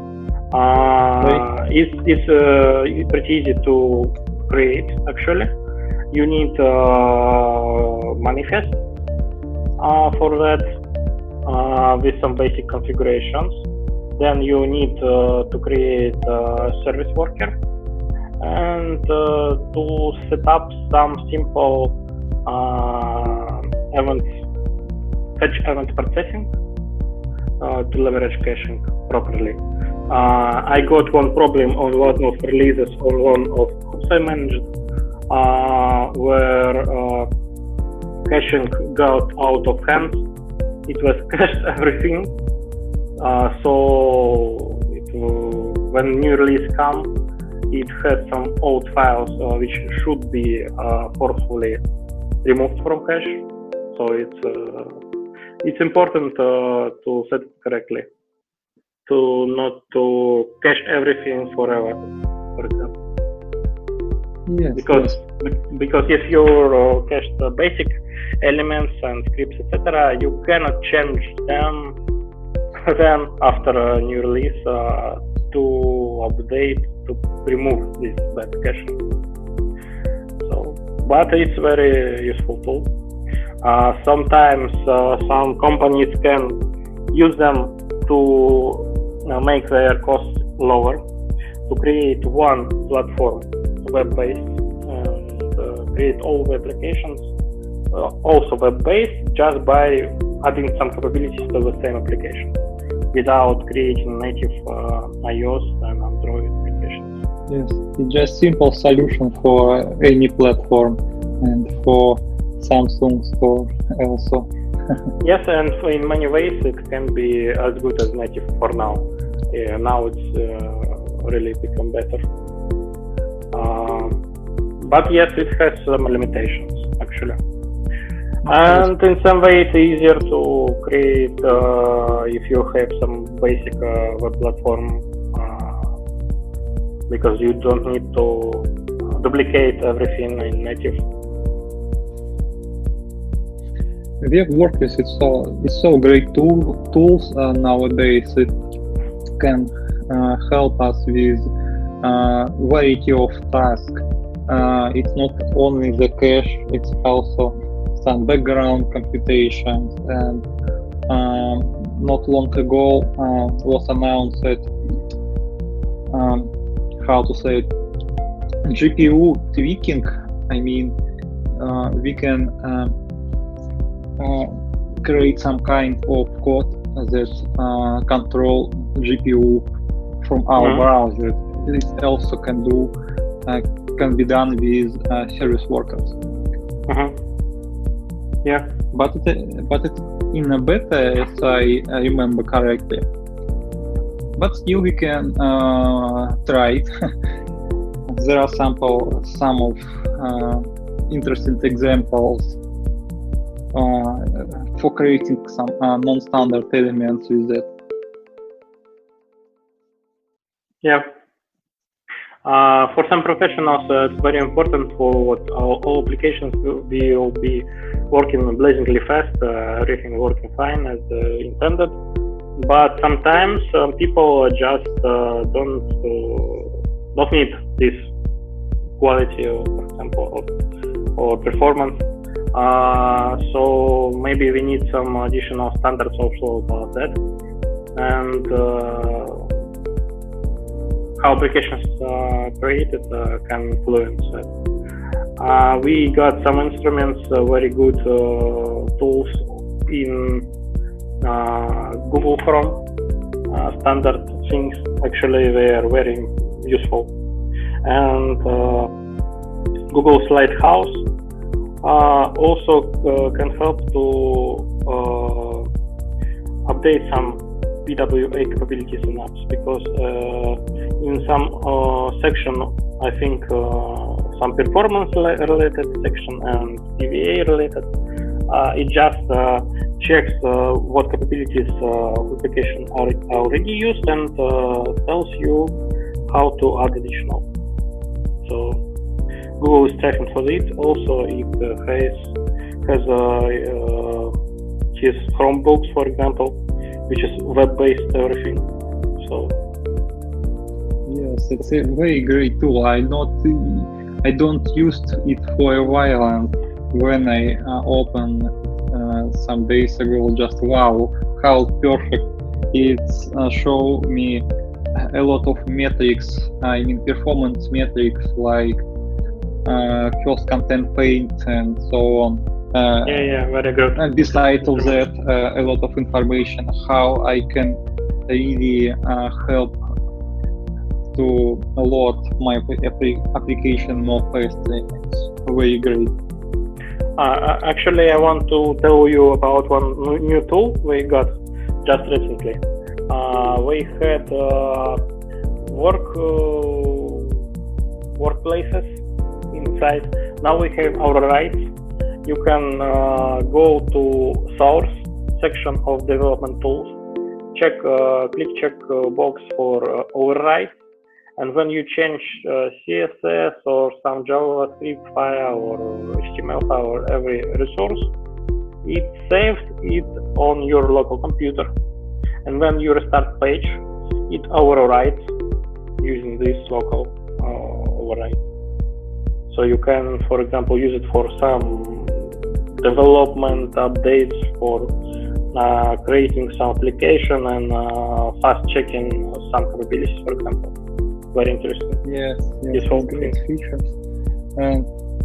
It's pretty easy to create. Actually, you need manifest for that with some basic configurations. Then you need to create a service worker and to set up some simple fetch event processing to leverage caching properly. I got one problem on one of releases on one of apps I managed, where caching got out of hand it was cached everything. So when new release comes, it has some old files which should be forcefully removed from cache. So it's important to set it correctly, to not to cache everything forever, for example. Yes, because if you cache the basic elements and scripts, etc., you cannot change them then after a new release to update, to remove this bad caching. So, but it's very useful tool. Sometimes some companies can use them to make their costs lower, to create one platform, web-based, and create all the applications also web-based, just by adding some capabilities to the same application without creating native iOS and Android applications. Yes, it's just simple solution for any platform and for Samsung store also. Yes, and in many ways it can be as good as native for now. Now it's really become better. But yes, it has some limitations actually. And in some way it's easier to create if you have some basic web platform, because you don't need to duplicate everything in native. Web WordPress it's so great tools nowadays. It can help us with variety of tasks. It's not only the cache, it's also some background computations, and not long ago was announced that GPU tweaking. I mean, we can create some kind of code that control GPU from our browser. This also can be done with service workers. Yeah, but it in a beta, as I remember correctly. But still, we can try it. There are some of interesting examples for creating some non-standard elements with it. Yeah. For some professionals, it's very important for what all applications will be working blazingly fast, everything working fine as intended. But sometimes people just don't need this quality, for example, or performance. So maybe we need some additional standards also about that, and how applications created can influence that. We got some instruments, very good tools in Google Chrome. Standard things, actually, they are very useful. And Google Lighthouse also can help to update some PWA capabilities in apps, because in some section, I think some performance related section and PWA related, it just checks what capabilities of application are already used and tells you how to add additional. So Google is tracking for it. Also, it has his Chromebooks, for example, which is web-based everything. So yes, it's a very great tool. I don't use it for a while, and when I opened some days ago, just wow, how perfect it's show me a lot of metrics. I mean, performance metrics like first content paint and so on. Very good. And besides of that, a lot of information how I can really help to load my application more fastly. It's very great. Actually, I want to tell you about one new tool we got just recently. We had workplaces inside. Now we have our rights. You can go to source section of development tools, click check box for override, and when you change CSS or some JavaScript file or HTML file or every resource, it saves it on your local computer, and when you restart page, it overrides using this local override. So you can, for example, use it for some development updates, for creating some application and fast checking some capabilities, for example. Very interesting. Yes, great features. And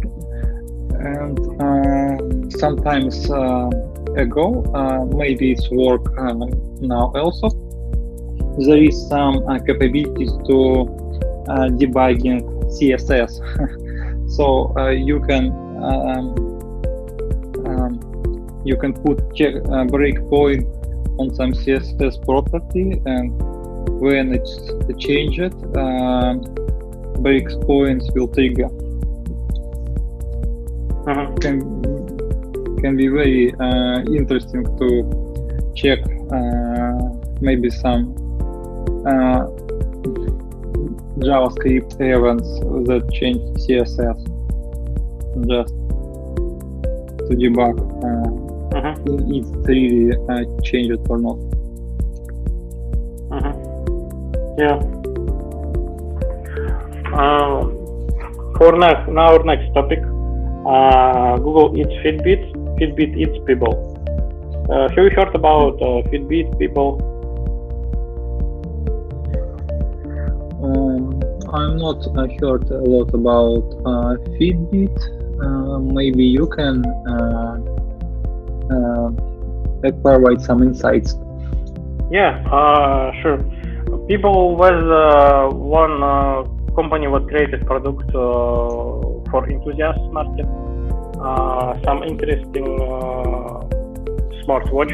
sometimes ago, maybe it's work now also, there is some capabilities to debugging CSS. So you can put breakpoint on some CSS property, and when it's changed, breakpoints will trigger. Can be very interesting to check maybe some JavaScript events that change CSS, just to debug if it really changed or not. Yeah. For our next topic, Google eats Fitbit. Fitbit eats people. Have you heard about Fitbit people? I'm not heard a lot about Fitbit. Maybe you can provide some insights. Yeah, sure. People was one company what created product for enthusiast market. Some interesting smartwatch.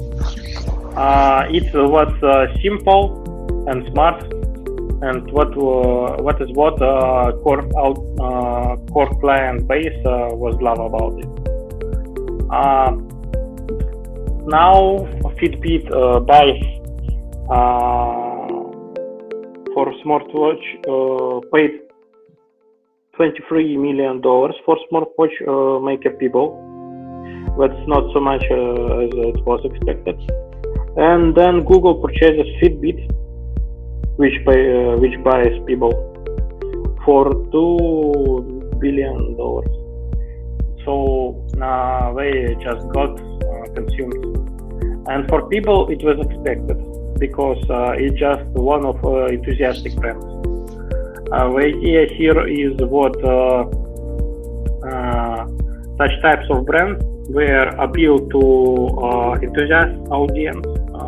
It was simple and smart, and what core client base was love about it. Now Fitbit buys for smartwatch paid $23 million for smartwatch makeup people. That's not so much as it was expected. And then Google purchases Fitbit, which buys people for $2 billion. So they just got consumed. And for people, it was expected because it's just one of enthusiastic brands. The idea here is what such types of brands were appeal to enthusiast audience,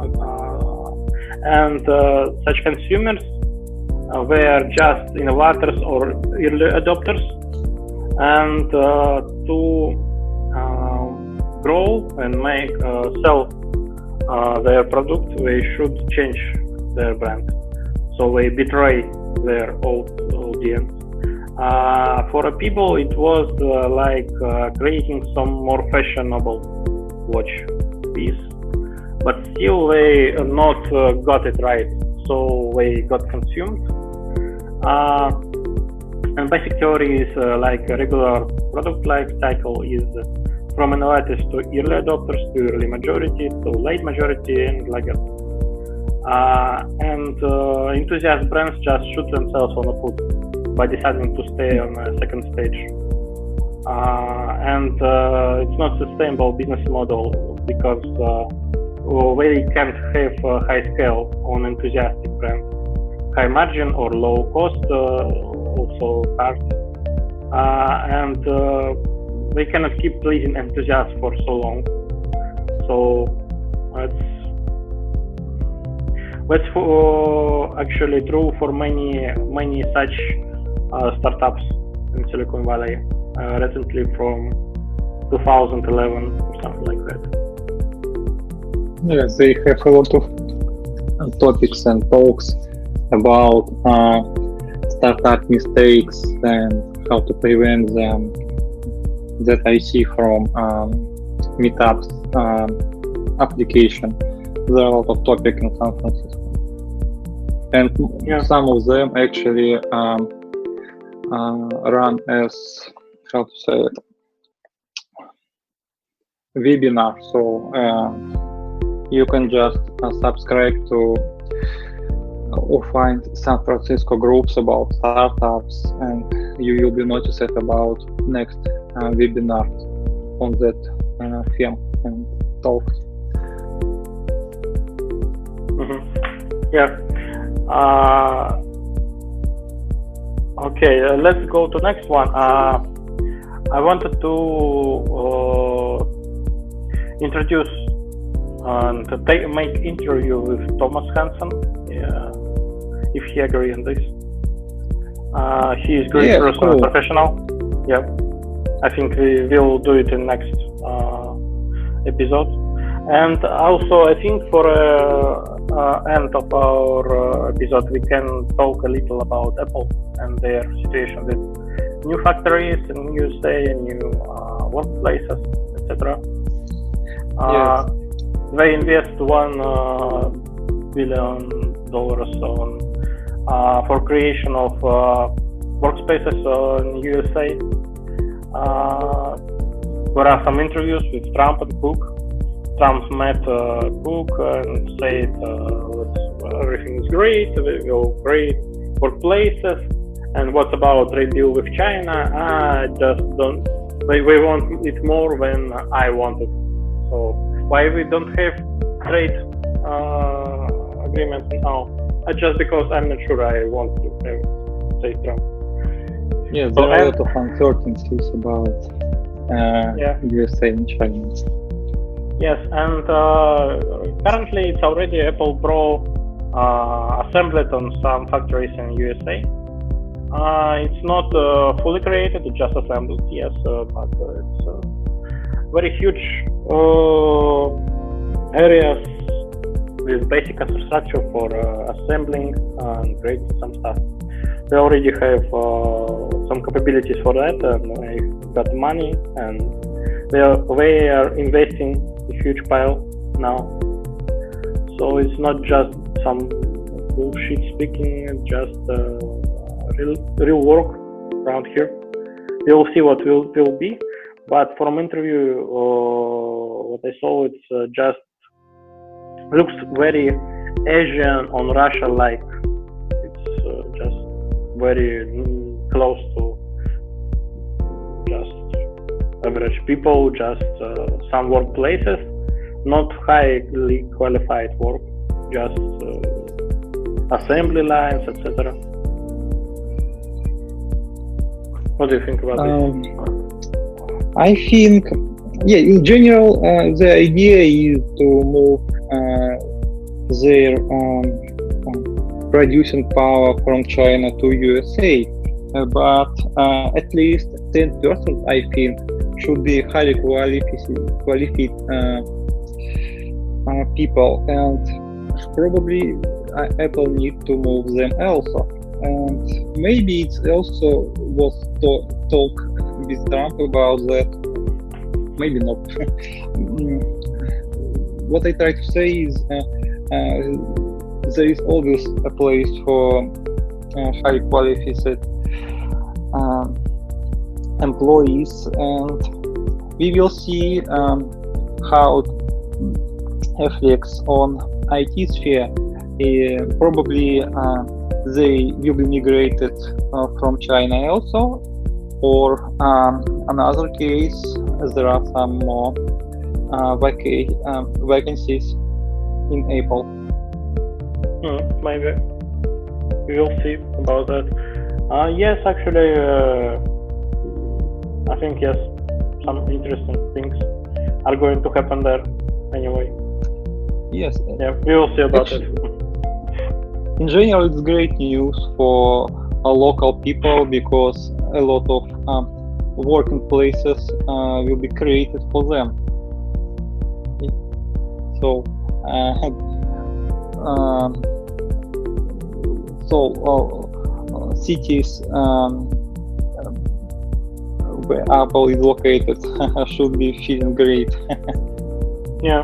and such consumers were just innovators or early adopters, and to grow and make sell their product, they should change their brand. So they betray their old audience. For people, it was like creating some more fashionable watch piece, but still they not got it right, so they got consumed. And basic theory is like a regular product life cycle is from innovators to early adopters to early majority to late majority and laggard. And enthusiast brands just shoot themselves on the foot by deciding to stay on a second stage. And it's not sustainable business model because they can't have high scale on enthusiastic brand. High margin or low cost also hard. And they cannot keep pleasing enthusiasts for so long. So that's actually true for many such startups in Silicon Valley. Recently from 2011 or something like that. Yes, they have a lot of topics and talks about startup mistakes and how to prevent them that I see from Meetups application. There are a lot of topics in San Francisco, and some of them actually run as, how to say it, webinar. So you can just subscribe to or find San Francisco groups about startups, and you will be noticed about next webinar on that theme and talk. Yeah. Okay, let's go to next one. I wanted to introduce and make interview with Thomas Hansen, if he agrees on this. He is great person, cool. Professional. Yeah, I think we will do it in next episode. And also, I think for end of our episode, we can talk a little about Apple and their situation with new factories in USA, new workplaces, etc. Yes. They invest $1 billion on for creation of workspaces in USA. There are some interviews with Trump and Cook. Trump met Cook and said everything is great, we will create workplaces, and what about trade deal with China? I just don't. We want it more than I want it. So why we don't have trade agreement now? Just because I'm not sure I want to have, say, Trump. Yeah, there are a lot of uncertainties about USA and China. Yes, and currently it's already Apple Pro assembled on some factories in USA. It's not fully created, it's just assembled, yes, but it's very huge areas with basic infrastructure for assembling and creating some stuff. They already have some capabilities for that, and they got money, and they are investing a huge pile now. So it's not just some bullshit speaking, it's just real work around here. We will see what will be, but from interview, what I saw, it's just looks very Asian on Russia-like. It's just very close to just average people, just some workplaces, not highly qualified work, just assembly lines, etc. What do you think about this? I think, in general, the idea is to move their producing power from China to USA, but at least 10%, I think, should be highly qualified people, and probably Apple need to move them also. And maybe it's also was talk with Trump about that. Maybe not. What I try to say is there is always a place for highly qualified employees, and we will see how it affects on IT sphere. Probably they will be migrated from China also, or another case, there are some more vacancies in Apple. Maybe we will see about that. Yes, actually, I think yes, some interesting things are going to happen there anyway. Yes. Yeah, we will see about it. In general, it's great news for local people, because a lot of working places will be created for them. So cities where Apple is located should be feeling great. Yeah.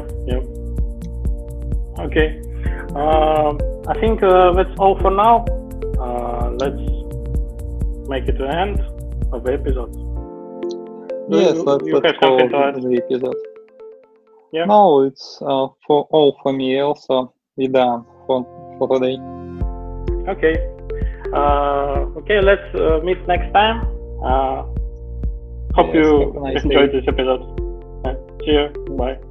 Okay. I think that's all for now. Let's make it the end of the episode. Yes, let's call the episode. Yeah. No, it's for me also. We're done for today. Okay. Okay, let's meet next time. Hope you enjoyed this episode. See you. Bye.